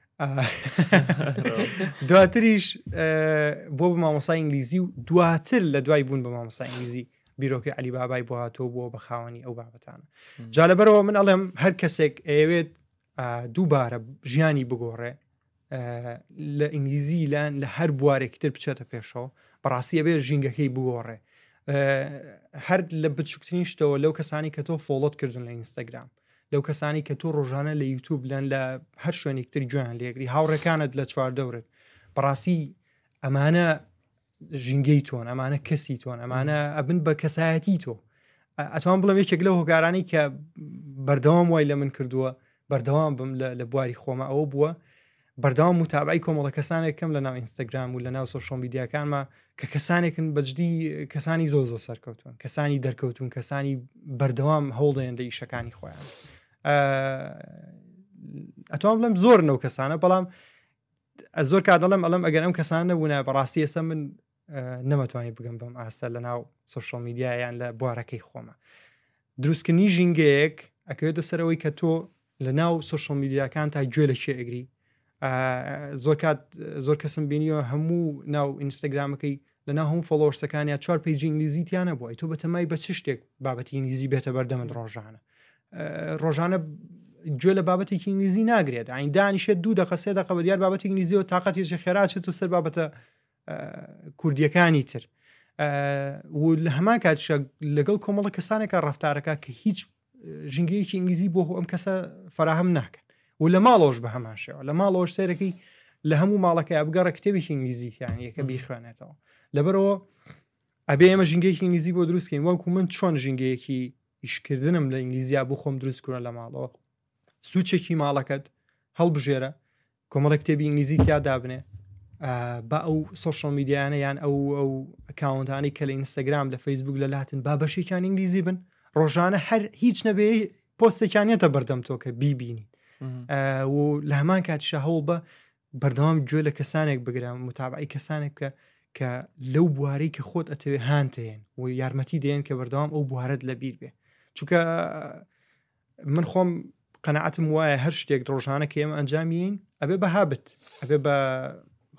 دواتریش بۆ بە مامۆسای ئینگلیزی و دواتر لە دوای بوون بە مامۆسای ئینگلیزی بیرۆکەی عەلیبابای بۆ هاتۆ بۆ بە خاوەنی ئەو بابەتانە جا لەبەرەوە من ئەڵێم هەر کەسێک ئەوێت دووبارە ژیانی بگۆڕێ لە ئینگلیزی لە هەر بوارێکتر بچێتە پێشەوە بەڕاستی ئەبێ ژینگەکەی بگۆڕێ هەر لە بچووکترین شتەوە لەو کەسانی کە تۆ فۆڵۆت کردن لە ئینستاگرام لەو کەسانی کە تۆ ڕۆژانە لە یوتیوب لەن لە هەر شوێنێکتر گوێیان لێگری هاوڕێکانت لە چواردەورت بەڕاستی ئەمانە ژینگەی تۆن ئەمانە کەسی تۆن ئەمانە ئەبن بە کەسایەتی تۆ ئەتوان بڵم یەکێک لەو هۆکارانی کە بەردەوام وای لە من کردووە بەردەوام بم لە بواری خۆمە ئەوە بووە بەردەوام متابعی کۆمەڵە کەسانێکم لە ناو ئینستاگرام و لە ناو سۆشیۆل میدیاکانمە کە کەسانێکن بەجددی کەسانی زۆر سەرکەوتون کەسانی دەرکەوتون کەسانی بەردەوام هەوڵدەیەن لە ئیشەکانی خۆیان ئەتوان بڵم زۆر نەو کەسانە بەڵام زۆر کات دەڵێم ئەڵم ئەگەر ئەم کەسان نەبوونە بەڕاستی ئێستا من نەمەتوانی بگەم بەم ئاستە لە ناو سۆشیۆل میدیایان لە بوارەکەی خۆمە دروستکردنی ژینگەیەک ئەکەوێتە سەرەوەی کە تۆ لە ناو سۆشیۆل میدیاکان تا گوێ لە چێ ئەگری زۆر کەسم بینیەوە هەموو ناو ئینستاگرامەکەی لە ناو هەموو فۆلۆورسەکانیان 4 پیجی ئینگلیزیتیانە بووە تۆ بەتەمای بە چ شتێک بابەتی ئینگلیزی بێتە بەردەمت ڕۆژانە گوێ لە بابەتێکی ئینگلیزی ناگرێت ئاین دانیشێت 2 دقیقە 3 دقیقە بە دیار بابەتی ئینگلیزی و تااقەتێکی خێراچێت و سەر بابەتە کوردیەکانی تر و لە هەمان کاتیشە لەگەڵ کۆمەڵە کەسانێکە ڕەفتارەکە کە هیچ ژینگەیەکی ئینگلیزی بۆ ئەم کەسە فراهم ناکەن و لە ماڵەوەش بە هەمان شێوە لە ماڵەوەش سێرەکەی لە هەموو ماڵەکە بگەڕە کتێبێکی ئینگلیزییانەکە بیخوێنێتەوە لەبەرەوە ئەبێ ئێمە ژینگەیەکی ئینگلیزی بۆ دروستکەین وەکو من چۆن ژینگەیەکی ئیشکردنم لە ئینگلیزیا بۆ خۆم دروستکردن لە ماڵەوە سوچێکی ماڵەکەت هەڵبژێرە کۆمەڵە کتێبی ئینگلیزی تیادا بنێ بە ئەو سۆشیۆل میدیانە یان ئەو ئەکاونتانی کە لە ئینستاگرام لە فەیسبوک لە لاتن با بەشێکیان ئینگلیزی بن ڕۆژانە هەر هیچ نەبێ پۆستێکیانێتە بەردەم تۆ کە بیبینی و لە هەمان کاتیشە هەوڵ بە بەردەوام گوێ لە کەسانێک بگرام متابعی کەسانێک کە لەو بوارەی کە خۆت ئەتەوێ هاانتەیەن و یارمەتی دێن کە بەردەوام ئەو بوارەت لە بیر بێ چونکە من خۆم قەنەعەتم وایە هەر شتێک ڕۆژانە کە ئێمە ئەنجامین ئەبێ بە هابت ئەبێ بە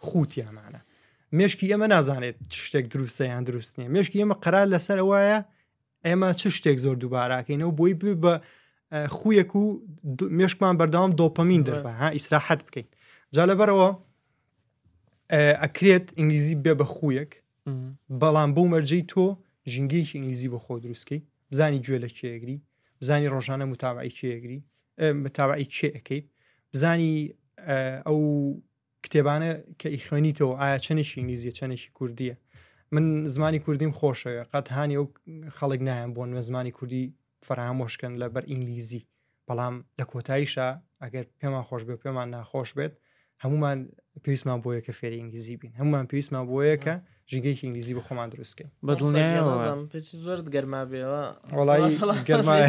خوتیامانە مێشکی ئێمە نازانێت شتێک دروستە یان دروست نیە مێشکی ئێمە قەرار لەسەر وایە ئێمە چ شتێک زۆر دووباراکەینەوە بۆی بە خویەک و مێشکمان بەردەوام دۆپەمین دەربە ها ئیسراحەت بکەین جا لەبەرەوە ئەکرێت ئینگلیزی بێ بە خویەک بەڵام بۆ مەرجەی تۆ ژینگەیەکی ئینگلیزی بۆ خۆ دروستکەی بزانی گوێ لە کێگری بزانی ڕۆژانە متابعی کێگری متابعی کێ ئەەکەیت بزانی ئەو کتێبانە کە ئیخوێنیتەوە ئایا چەندێکی ئینگلیزیە چەندێکی کوردیە من زمانی کوردیم خۆشەوە قەت هاانی ئەو خەڵک نایەن بۆن مە زمانی کوردی فەرهامۆشکن لەبەر ئینگلیزی بەڵام لە کۆتاییشە ئەگەر پێمان خۆش بێ پێمان ناخۆش بێت هەمومان پێویستمان بۆیە کە فێری ئینگلیزی بین هەمومان پێویستمان بۆیە کە ژینگەیەکی ئینگلیزی بە خۆمان دروستکەین زۆر گەرما بێەوە وڵی گەرمایە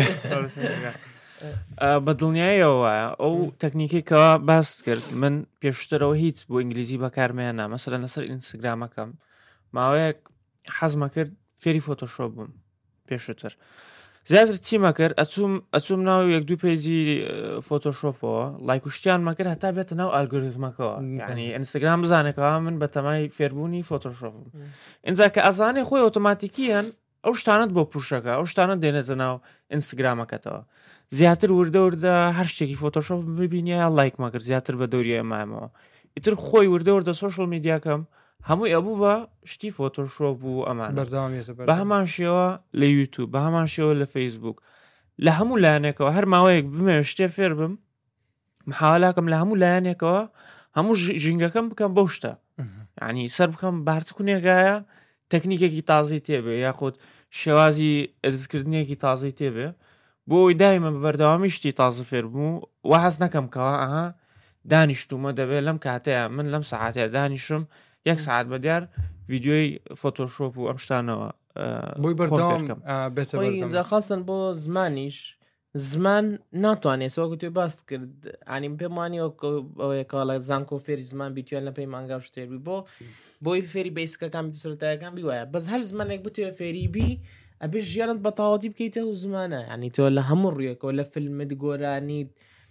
بە دڵنیایەوە ئەو تەکنیکێکەوە باس کرد من پێشترەوە هیچ بۆ ئینگلیزی بەکارمەیانە مەسەلەن لەسەر ئینستاگرامەکەم ماوەیەک حەزمە کرد فێری فۆتۆشۆپ بووم پێشتر زیاتر چیمە کرد ئەچوم ناو یەک دوو پێیجی فۆتۆشۆپەوە لایکوشتیان مەکرد هەتا بێتە ناو ئالگۆریزمەکەەوە یعنی ئینستاگرام بزانێکەوە من بە تەمای فێربوونی فۆتۆشۆپم اینجا کە ئەزانێ خۆی ئۆتۆماتیکیان ئەو شتانت بۆ پوشەکە ئەو شتانت دێنێتە ناو ئینستاگرامەکەتەوە زیاتر وردە هەر شتێکی فۆتۆشۆپ ببینە لایک مەکرد زیاتر بە دەوری ئەمامەوە ئیتر خۆی وردە سۆشڵ میدیاکەم هەمووی ئەبوو بە شتی فۆتۆشۆپ و ئەمان بە هەمان شێوە لە یوتیوب بە هەمان شێوە لە فەیسبوک لە هەموو لایەنێکەوە هەر ماوەیەک بمێ شتێ فێر بم محاولاکەم لە هەموو لایەنێکەوە هەموو ژینگەکەم بکەم بەو شتە یعنی سەر بکەم بارچکونێکایە تەکنیکێکی تازی تێبێ یاخود شێوازی ئەدەستکردنیەکی تازی تێبێ بۆی دایمە بەردەوامی شتی تازە فێر بوو و حەز نەکەم کەەوە ئەها دانیشتومە دەبێت لەم کاتەیە من لەم سەعاتەیە دانیشم 1 ساعت بەدیار ڤیددیۆی فۆتۆشۆپ و ئەم شتانەوە بۆی بەردەوام بێتە خاستن بۆ زمانیش زمان ناتوانێت سەوەکو توێ باست کرد ئانیم پێم وانیەوەیەکە لە زانکۆ فێری زمان بیتوێن لە پێی مانگا شتێبی بۆی فێری بیسکەکان سرەتایەکان بیوایە بەس هەر زمانێک بتوێ فێری بی ئەبێ ژیانت بە تاواتی بکەیتە و زمانە ینی تۆ لە هەموو ڕوویەکەەوە لە فیلمت گۆرانیت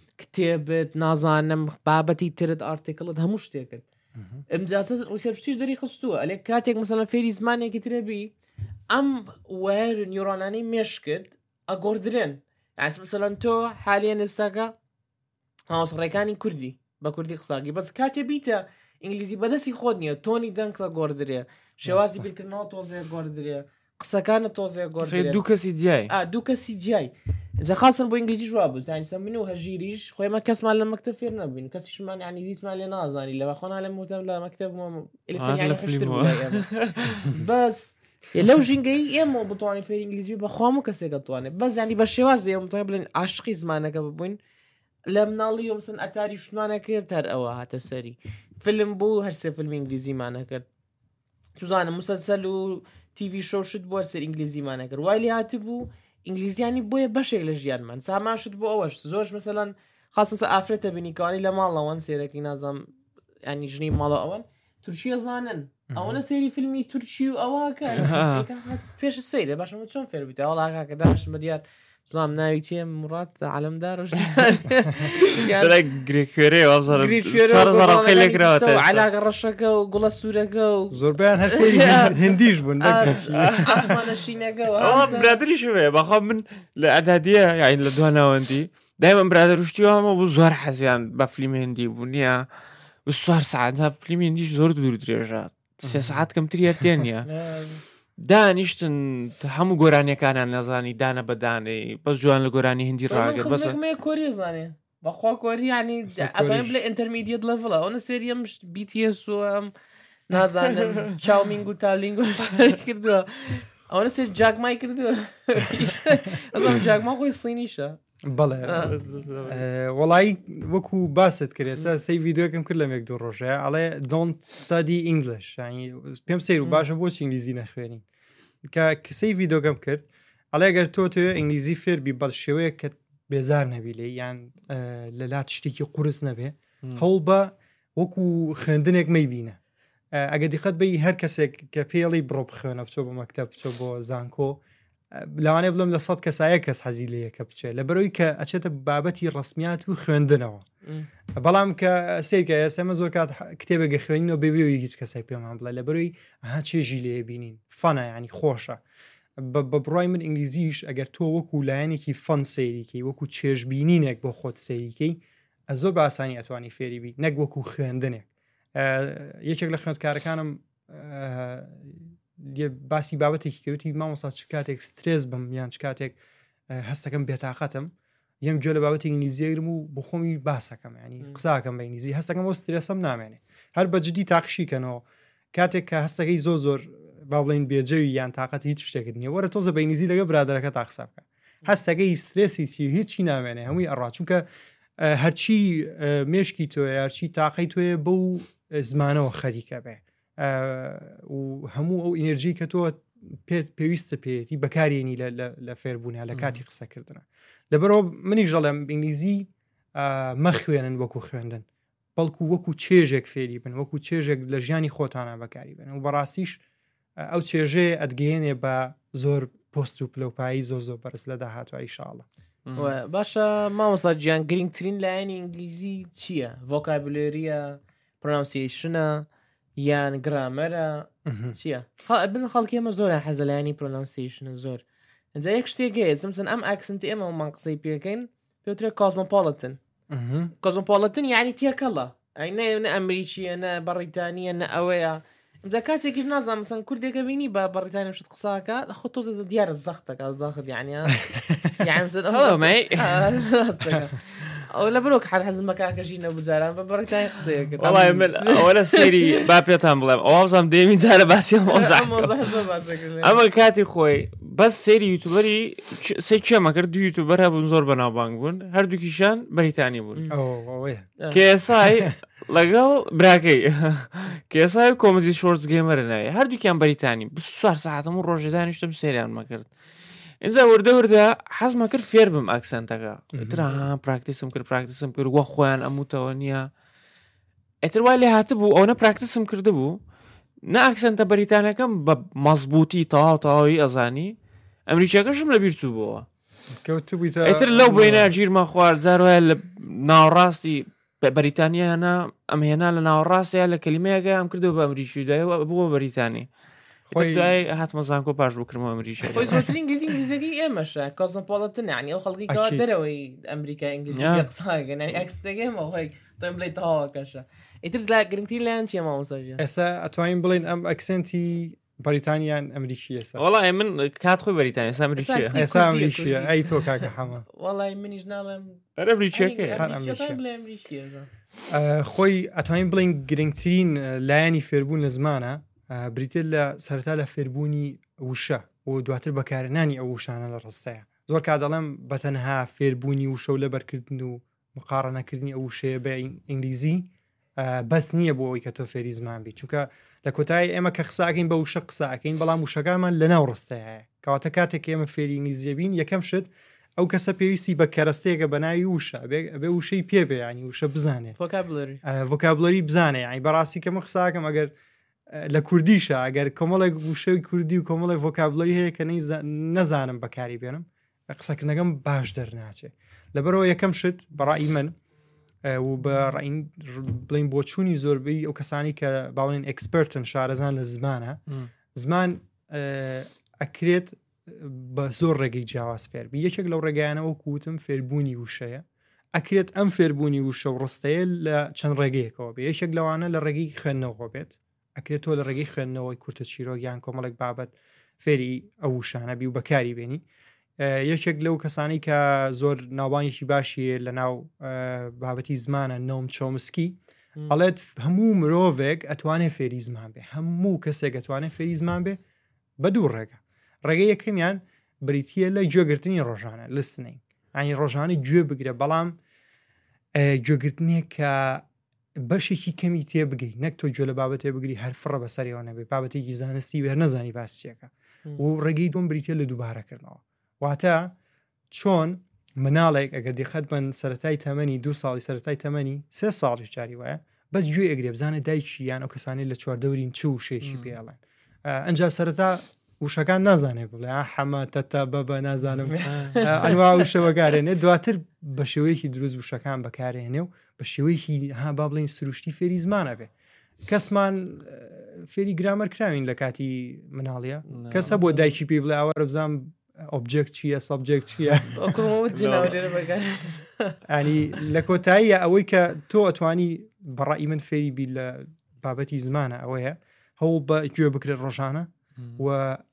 کتێبت نازانم بابەتی ترت ئارتیکڵت هەموو شتێکت ئەمجاسە ڕوسێپشتیش دەری خستووە ئەلێ کاتێک مەسەلەن فێری زمانێکی ترەبی ئەم وەر نیورۆنانەی مێشکرد ئەگۆردرێن ئاس مەسەلەن تۆ حالیان ئێستاکە هاوسڕێکانی کوردی بە کوردی قساگی بەس کاتێ بیتە ئینگلیزی بەدەستی خۆت نییە تۆنی دەنگڵە گۆردرێ شێوازی بیرکردنەوە تۆزەیە گۆردرێ قسەکانە تۆزەیە گۆردرێ دوو کەسی جیای دوو کەسی جیای جا خاصن بۆ ئینگلیزی جواب بوو زانیسە من و هەژیریش خۆیمە کەسمان لە مەکتەب فێر نەبووین کەسیشمان ینی دیتمان لێ نازانی لەوە خۆنا لە موتەم لە مەکتەب بەس لەو ژینگەی ئێمە بتوانین فێر ئینگلیزی بەخوام و کەسێکە توانێت بەس ینی بە شێوازی ئێمە بڵێن عاشقی زمانەکە ببووین لە مناڵی ومسن ئەتاری شتمانەکرد هەر ئەوە هاتە سەری فیلم بوو هەر سێ فیلمی ئینگلیزیمانەکرد توزانم مسلسل و تیڤی شۆ شت بۆ سەر ئینگلیزیمانەکرد وای لێ هاتی بوو ئینگلیزیانی بۆیە بەشێک لە ژیانمان ساماشت بۆ ئەوەش زۆرش مەسەلەن خاصنسە ئافرەتە بینیکانی لە ماڵەوەن سێرەکی نازام ینی ژنی ماڵە ئەوەن تورکیە زانن ئەوەنە سێری فیلمی تورکی و ئەوواکە پێش سەیرە باشە چۆن فێر بیتە وڵاکە داش مەدیار زام ناوی چێ مرات عالمدارش علاقە ڕەشەکە و گوڵە سوورەکە و زۆربیان هەر هندیش بوون ئاسمانەشینەکەەوە برادریش وێ بەخوا من لە ئەدادیە یاین لە دواناوەندی دایمە برادروشتیوامە بوو زۆر حەزیان بە فیلمی هندی بوونیە سوار ساعت فیلمی هندیش زۆر دوور درێژە 3 ساعت کەمتر یارتێن نیە دانیشتن هەموو گۆرانیەکانیان نەزانی دانە بەدانەی بەس جوان لە گۆرانی هندی ڕاگەر بەس کۆری زانێ بەخوا کۆری ینی ئەتوانین بڵێ ئینتەرمیدیەت لەڤڵە ئەوە سێریەم BTS و ئەم نازانم چاومینگ و تالینگ و کردووە ئەوە سێر جاگمای کردووە ئەزم جاگما خۆی سینیشە بەڵێ وەڵی وەکو باست کرێسە سی ڤیددیۆکەم کرد لە مێک دوو ڕۆژەیە ئەڵێ don't study English پێم سیر و باشە بۆچی ئینگلیزی نەخوێنین کە کەسەی ڤیددیۆکەم کرد ئەڵێ گەر تۆ ئینگلیزی فێربی بەڵ شێوەیە کە بێزار نەبی لێ یان لەلات شتێکی قورس نەبێ هەوڵ بە وەکو خوێندنێک مەیبینە ئەگە دیقەت بەی هەر کەسێک کە پێڵی بڕۆ بخوێنە بچۆ بۆ مەکتەب بچۆ بۆ زانکۆ لەوانێ بڵم لە 100 کەسایە کەس حەزی لەیە کە بچێت لە بەرەوەی کە ئەچێتە بابەتی ڕسمیات و خوێندنەوە بەڵام کە سێکە ئێسێمە زۆر کات کتێبێگە خوێنینەوە بێبێەوەی هیچ کەسای پێمان بڵێ لە بەرەوەی ئەها چێژی لێ بینین فەنە ینی خۆشە بە بڕای من ئینگلیزیش ئەگەر تۆ وەکو لایەنێکی فەن سەیریکەی وەکو چێژبینینێک بۆ خۆت سەیریکەی زۆر بە ئاسانی ئەتوانی فێری بی نەک وەکو خوێندنێک. یەکێک لە خوێندکارەکانم باسی بابەتێکی کەوتی مامۆستا چ کاتێک سترێس بم یان چ کاتێک هەستەکەم بێتاقەتم یەم گوێ لە بابەتی ئینگلیزیگرم و بۆ خۆمی باسەکەم ینی قساکەم بە ئینگلیزی هەستەکەم بۆ سترێسم نامێنێ هەر بە جدی تاقشیکەنەوە کاتێک کە هەستەکەی زۆر با بڵین بێجەوی یان تااقەتی هیچ شتێکت نییە وەرە تۆزە بە ئینگلیزی لەگە برادەرەکە تا قسە بکە هەستەکەی سترێسی هیچی نامێنێ هەمووی ئەڕا چونکە هەرچی مێشکی تۆ هەرچی تاقەی توێ بەو زمانەوە خەریکە بێ و هەموو ئەو ئینەرژی کە تۆ پێویستە پێێتی بەکارێنی لە فێربوونە لە کاتی قسەکردنە لەبەرەوە منی ژەڵێم ئینگلیزی مەخوێنن وەکو خوێندن بەڵکو وەکو چێژێک فێری بن وەکو چێژێک لە ژیانی خۆتانە بەکاری بن و بەڕاستیش ئەو چێژێ ئەدگەێنێ بە زۆر پۆست و پلەپایی زۆر بەرز لە داهاتوە ئینشاءڵڵا. باشە مامۆستا گیان گرنگترین لایەنی ئینگلیزی چییە؟ ڤۆکابولێریە، پرۆنانسیشنە یان گرامەرە چییە؟ بن خەڵکی ئێمە زۆر حەزە لایەنی پرۆنانسیشنە زۆر ئەجا یەک شتێک هەیە سمسن ئەم ئاکسنتی ئێمەمان قسەی پێکەین پێوترێ کۆزمۆپۆڵەتن کۆزمۆپۆڵەتن یعنی تێکەڵە ئەی نە ئەمریکیە نە بەڕیتانیە نە ئەوەیە ئەجا کاتێکیش نازانم مەسەن کوردێکە بینی بە بەڕیتانیا شت قساکە خۆ تۆزە دیارە زەختەکە زەخت یعنی ئەو لە برۆک هەر حەزم بە کاکەژی نەبووجاران بە بەڕیتانی قسەیەکرد وەڵای من ئەوە لە سێری با پێتان بڵێم ئەوەزانم دێمین جارە باسی ئەمە کاتی خۆی بەس سێری یوتوبەری سێ چێمە کرد دو یوتوبەر هەبوون زۆر بەناوبانگ بوون هەردووکیشان بەریتانی بوون کێسای لەگەڵ براکەی کێسای کۆمەدی شۆرتس گێمەرە ناوێ هەردووکیان بەریتانی 24 ساعتم و ڕۆژێ دانیشتم سێریان مەکرد اینجا وردە حەزمە کرد فێر بم ئەکسەنتەکە ئیترا پراکتیسم کرد وە خۆیان ئەموتەوە نییە ئەتر وای لێ هاتە بوو ئەوە پراکتیسم کرده بوو نە ئەکسەنتە بەریتانەکەم بە مەزبوطی تەواوی ئەزانی ئەمریکیەکەشم لە بیر چوو بووە ئیتر لەو بینە گیرمە خوارد جاروایە لە ناوەڕاستی بەریتانیانە ئەم هێنا لە ناوەڕاستەیە لە کەلیمەیەکە ئەم کردەوە بە ئەمریکی دوایەوە بووە بەریتانی دوای هاتمەزانکۆ پاش بکردمەوە ئەمریکی خۆی زۆرترین ئینگلیزیەکەی ئێمەشە کۆزمۆپۆڵەتن یعنی ئەو خەڵکی کەوا دەرەوەی ئەمریکا ئینگلیزی قساکەن یعنی ئەکسەکەیمە خۆی تۆم بڵێ تەواوەکەشە ئیتر لا گرنگترین لایەن چییە مامۆستا ئێستا ئەتوانین بڵێن ئەم ئەکسنتی بەریتانیان ئەمریکی ئێستا وەڵای من کات خۆی بەریتانی ئێستا ئەمریکیە ئەی تۆ کاکە هەمە وەڵای منیش ناڵێم ئەمریکیەکە خۆی ئەتوانین بڵین گرنگترین لایەنی فێربوون لە زمانە بریتێت لە سەرەتا لە فێربوونی وشە و دواتر بەکارهێنانی ئەو وشانە لە ڕستەیە زۆر کا دەڵێم بەتەنها فێربوونی وشە و لەبەرکردن و مقارنەکردنی ئەو وشەیە بە ئینگلیزی بەس نییە بۆ ئەوی کە تۆ فێری زمان بیت چونکە لە کۆتایی ئێمە کە قساکەین بە وشە قساکەین بەڵام وشەکانمان لە ناو ڕستەیە کەواتە کاتێک ئێمە فێری ئینگلیزیە بین یەکەم شت ئەو کەسە پێویستی بە کەرەستەیەکە بە ناوی وشە بێ وشەی پێ بێ ینی وشە بزانێت ڤۆکابولەری بزانێ ینی بەڕاستی کە من قساکەم ئەگەر لە کوردیشە ئەگەر کۆمەڵێک وشەی کوردی و کۆمەڵی ڤۆکابولەری هەیە کە نەزانم بەکاری بێنم قسەکردنەکەم باش دەرناچێت لەبەرەوە یەکەم شت بەڕای من و بە ڕین بڵین بۆچوونی زۆربەی ئەو کەسانی کە باڵێن ئەکسپەرتن شارەزان لە زمانە زمان ئەکرێت بە زۆر ڕێگەی جیاواز فێربی یەکێک لەو ڕێگەیانەوە کووتم فێربوونی وشەیە ئەکرێت ئەم فێربوونی وشە و ڕستەیە لە چەند ڕێگەیەکەوە بێ یەکێک لەوانە لە ڕێگەی خوێندنەوە بێت ئەکرێت تۆ لە ڕێگەی خوێندنەوەی کورتە چیرۆگیان کۆمەڵێک بابەت فێری ئەو وشانە بی و بەکاری بێنی یەکێک لەو کەسانی کە زۆر ناوبانێکی باشیە لە ناو بابەتی زمانە نۆم چۆمسکی ئەڵێت هەموو مرۆڤێک ئەتوانێت فێری زمان بێ هەموو کەسێک ئەتوانێت فێری زمان بێ بە دوو ڕێگە ڕێگە یەکەمیان بریتیە لە گوێگرتنی ڕۆژانە لسنینگ ئەنی ڕۆژانە گوێ بگرە بەڵام گوێگرتنێک کە بەشێکی کەمی تێ بگەی نەک تۆ گوێ لە بابەتێ بگری هەر فڕە بەسەریەوە نەبێ بابەتێکی زانستی بێ نەزانی باسچیەکە و ڕێگەی دۆم بریتە لە دووبارەکردنەوە واتە چۆن مناڵێک ئەگەر دقت بن سەرەتای تەمەنی 2 ساڵی سەرەتای تەمەنی 3 ساڵی جاری وایە بەس گوێ ئەگرێ بزانە دایکی یان ئەو کەسانی لە چواردەورین چ وشێکی پێڵێن ئەنجا سەرەتا وشەکان نازانێ بڵێ حەمە تەتا بەبە نازانم ئەنوا وشە بەکارێنێ دواتر بە شێوەیەکی دروست وشەکان بەکارێنێ و بە شێوەیەکی ها با بڵێن سروشتی فێری زمانە بێ کەسمان فێری گرامەر کراوین لە کاتی مناڵیە کەسە بۆ دایکی پێ بڵێ ئاوە بزانام ئۆبجێکت چییە سەبجێکت چییە ینی لە کۆتاییە ئەوەی کە تۆ ئەتوانی بەڕای من فێری بی لە بابەتی زمانە ئەوەیە هەوڵ بە گوێ بکرێت ڕۆژانە و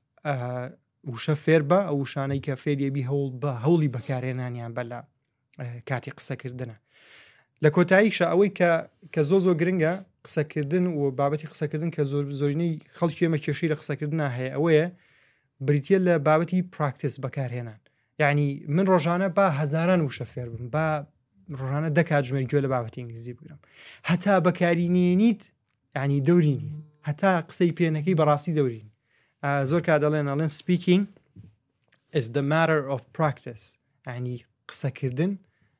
وشە فێر بە ئەو شانەی کە فێریەبی هەوڵ بە هەوڵی بەکارێنانیان بە لە کاتی قسەکردنە لە کۆتاییشە ئەوەی کە زۆ گرنگە قسەکردن و بابەتی قسەکردن کە زۆرینەی خەڵکی ئێمە کێشەی لە قسەکردنا هەیە ئەوەیە بریتە لە بابەتی پراکتیس بەکارهێنان یعنی من ڕۆژانە با هەزاران وشە فێر بم با ڕۆژانە دەکات ژمێر گوێ لە بابەتی ئینگلیزی بگرم هەتا بەکارینێنیت ینی دەورینی هەتا قسەی پێنەکەی بەڕاستی دەورین زۆر کا دەڵێن speaking is the matter of practice ینی قسەکردن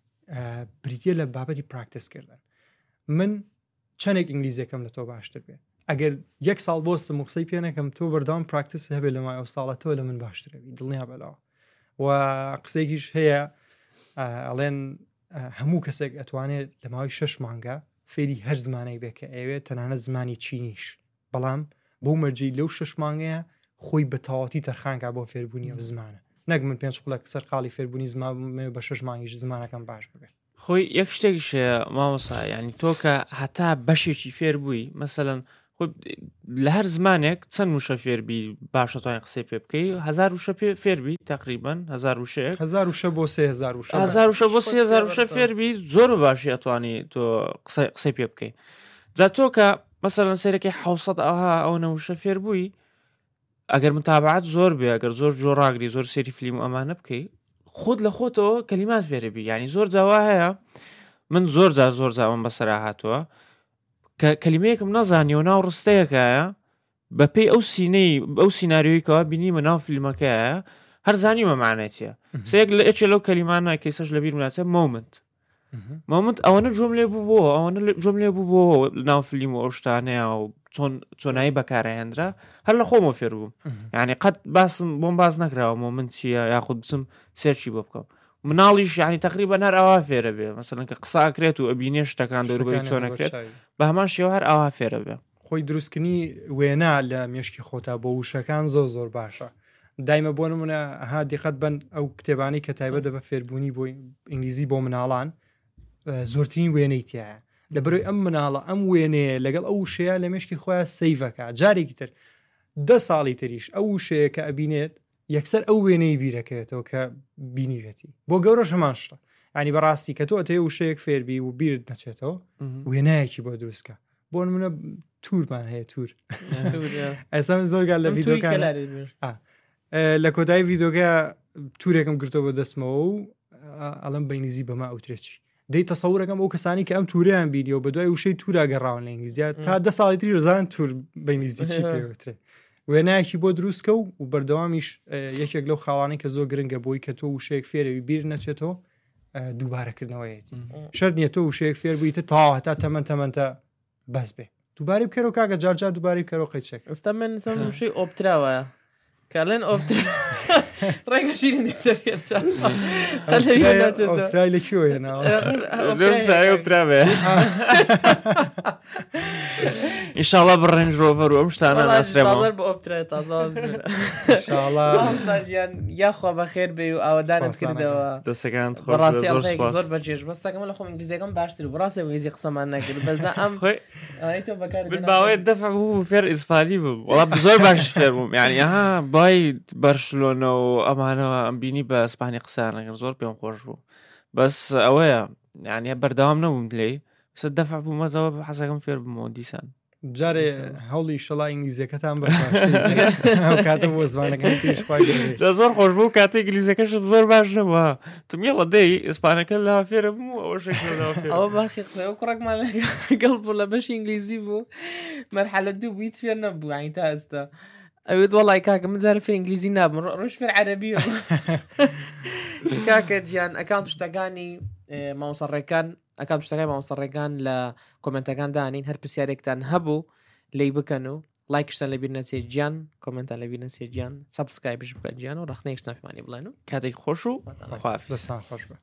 بریتە لە بابەتی پراکتیسکردن من چەندێک ئینگلیزیەکەم لە تۆ باشتر بێ ئەگەر 1 ساڵ بۆستم و قسەی پێ نەکەم تۆ بەردەوام پراکتیس هەبێت لە مای ئەو ساڵە تۆ لە من باشترەوی دڵنیا بەلاوە و قسێکیش هەیە ئەڵێن هەموو کەسێک ئەتوانێت لە ماوەی 6 مانگە فێری هەر زمانەی بێ کە ئەوێت تەنانەت زمانی چینیش بەڵام بۆ مەرجی لەو 6 مانگەیە خۆی بە تەواوەتی تەرخانکە بۆ فێربوونی ئەو زمانە نەک من 5 قوڵک سەر قاڵی فێربوونی زمان بە 6 مانگیش زمانەکەم باش ببێت خۆی یەک شتێکیشە مامۆسا ینی تۆ کە هەتا بەشێکی فێر بووی مەسەلەن لە هەر زمانێک چەند وشە فێربی باشەتوانین قسەی پێ بکەی 1000 وشە فێربی تقریبان 1000 وشەیەک 1000 وشە بۆ 3000 وشە 1000 وشە بۆ 3000 وشە فێربی زۆر باشی ئەتوانی تۆ قسەی پێ بکەی جا تۆ کە مەسەلەن سەرەکەی 700 ئەو نەوشە فێر بووی ئەگەر متابعات زۆر بێ ئەگەر زۆر جۆڕاگری زۆر سێری فیلم و ئەمانە بکەی خۆت لە خۆتەوە کەلیمات فێرەبی ینی زۆر جاوا هەیە من زۆر زاوم بەسەرا هاتووە کە کەلیمەیەکم نەزانی و ناو ڕستەیەکایە بەپێی ئەو سینەی ئەو سیناریۆیکەوە بینیمە ناو فیلمەکەیە هەر زانیمە معنەیە سەیەک لە ئەچێ لەو کەلیمانە کەیسەش لەبیر مناسە مۆمنت ئەوەنە جۆم لێ بوو بۆ ئەوەنە جۆم لێ بوو بۆ ناو فیلم و ئەو شتانەیە و چۆنایی بەکارەهێنرا هەر لە خۆمە فێر بووم یعنی قەت باسم بۆم باز نەکراوە مۆمنت چییە یاخود بچم سێرچی بۆ بکەم مناڵیش ینی تقریبا هەر ئەوا فێرە بێ مەسەلەن کە قساکرێت و ئەبینێ شتەکان دەوروبەری چۆنەکرێت بە هەمان شێوە هەر ئەوا فێرە بێ خۆی دروستکردنی وێنا لە مێشکی خۆتا بۆ وشەکان زۆر باشە دایمە بۆ نمونە ها دیقەت بن ئەو کتێبانی کە تایبەت دەبە فێربوونی بۆ ئینگلیزی بۆ مناڵان زۆرترین وێنەی تایە لەبەرەوەی ئەم مناڵە ئەم وێنەیە لەگەڵ ئەو شەیە لە مێشکی خۆیان سەیڤەکە جارێکی تر 10 ساڵی تریش ئەو شەیە کە ئەبینێت یەکسەر ئەو وێنەی بیرەکەوێتەوە کە بینیوێتی بۆ گەورە هەمان شتە ینی بەڕاستی کە تۆ ئەتەیە وشەیەک فێربی و بیرت نەچێتەوە وێنایەکی بۆ دروستکە بۆ نمونە تورمان هەیە تور ئەسا زۆرگال لە ڤیدۆکان لە کۆتایی ڤیدۆکە تورێکم گرتەوە بە دەستمەوە و ئەڵم بەینگلیزی بەما ئەوترێکی دەی تەسەورەکەم ئەو کەسانی کە ئەم تووریان بیدیۆ بە دوای وشەی تورا گەڕاون لە ئینگلیزیە تا 10 ساڵی تری ڕزان تور بەینگلیزی چی پێوترێ وێنایەکی بۆ دروستکە و بەردەوامیش یەکێک لەو خاڵانەی کە زۆر گرنگە بۆی کە تۆ وشەیەک فێرەوی بیر نەچێتەوە دووبارەکردنەوەیەتی شەرت نییە تۆ وشەیەک فێر بوویتە تا هەتا تەمەنتە بەس بێ دووباری بکەرەوە کاکە جارجار دووباری بکەرەوە قەیچێک ئەستا من وشەی ئۆپتراوە کەڵێن ئۆپترا ڕێگە شیرین ئۆپترای لەکوێوە ئۆپترا ئینشاڵڵا بڕێنج ڕۆڤەر و ئەم شتانە ناسرێمەوە بە ئۆپترای تازەیان یاخوا بەخێر بێ و ئاوادانت کردەوە دەستەکان بەڕاستی زۆر بەجێش بەستەکەم لە خۆم ئینگلیزیەکەم باشتر و بەڕاستی ئینگلیزی قسەمان نەکرد بەزنا ئەم تۆ بەکار باوێت دەفع بوو فێر ئیسپانی بوو وەڵام زۆر باش فێر بووم یعنی ئەها بای بەرشلۆنە و ئەمانەوە ئەم بینی بە ئەسپانی قسانەکە زۆر پێم خۆش بوو بەس ئەوەیە یعنی بەردەوام نەبووم لێی سە دەفع بوومەتەوە بە حەزەکەم فێر بوومەوە دیسان جارێ هەوڵی شەڵا ئینگلیزیەکەتان بە کاتە بۆ زمانەکان زۆر خۆش بوو کاتێک ئینگلیزیەکەش زۆر باش نەبووە تمیڵە دەی ئیسپانەکە لا فێرە بوو ئەوە باخی قسەوە کوڕێکمان گەڵ بوو لە بەشی ئینگلیزی بوو مەرحەلە دوو بوویت فێر نەبوو عین تا ئێستا ئەوێت وەڵای کاکە من جارە فێر ئینگلیزی نابم ڕۆژ فێر عەرەبی کاکە گیان ئەکاونت شتەکانی مامۆسەڕێکان ئەکاونت شتەکانی مامۆسەڕێکان لە کۆمنتەکان دانین هەر پرسیارێکتان هەبوو لی بکەن و لایکشتان لەبیر نەچێ گیان کۆمنتان لەبیر نەچێ گیان سابسکرایبش بکەن گیان و ڕخنەیەکشتان پێمانی بڵێن و کاتێک خۆش و خواحافیز.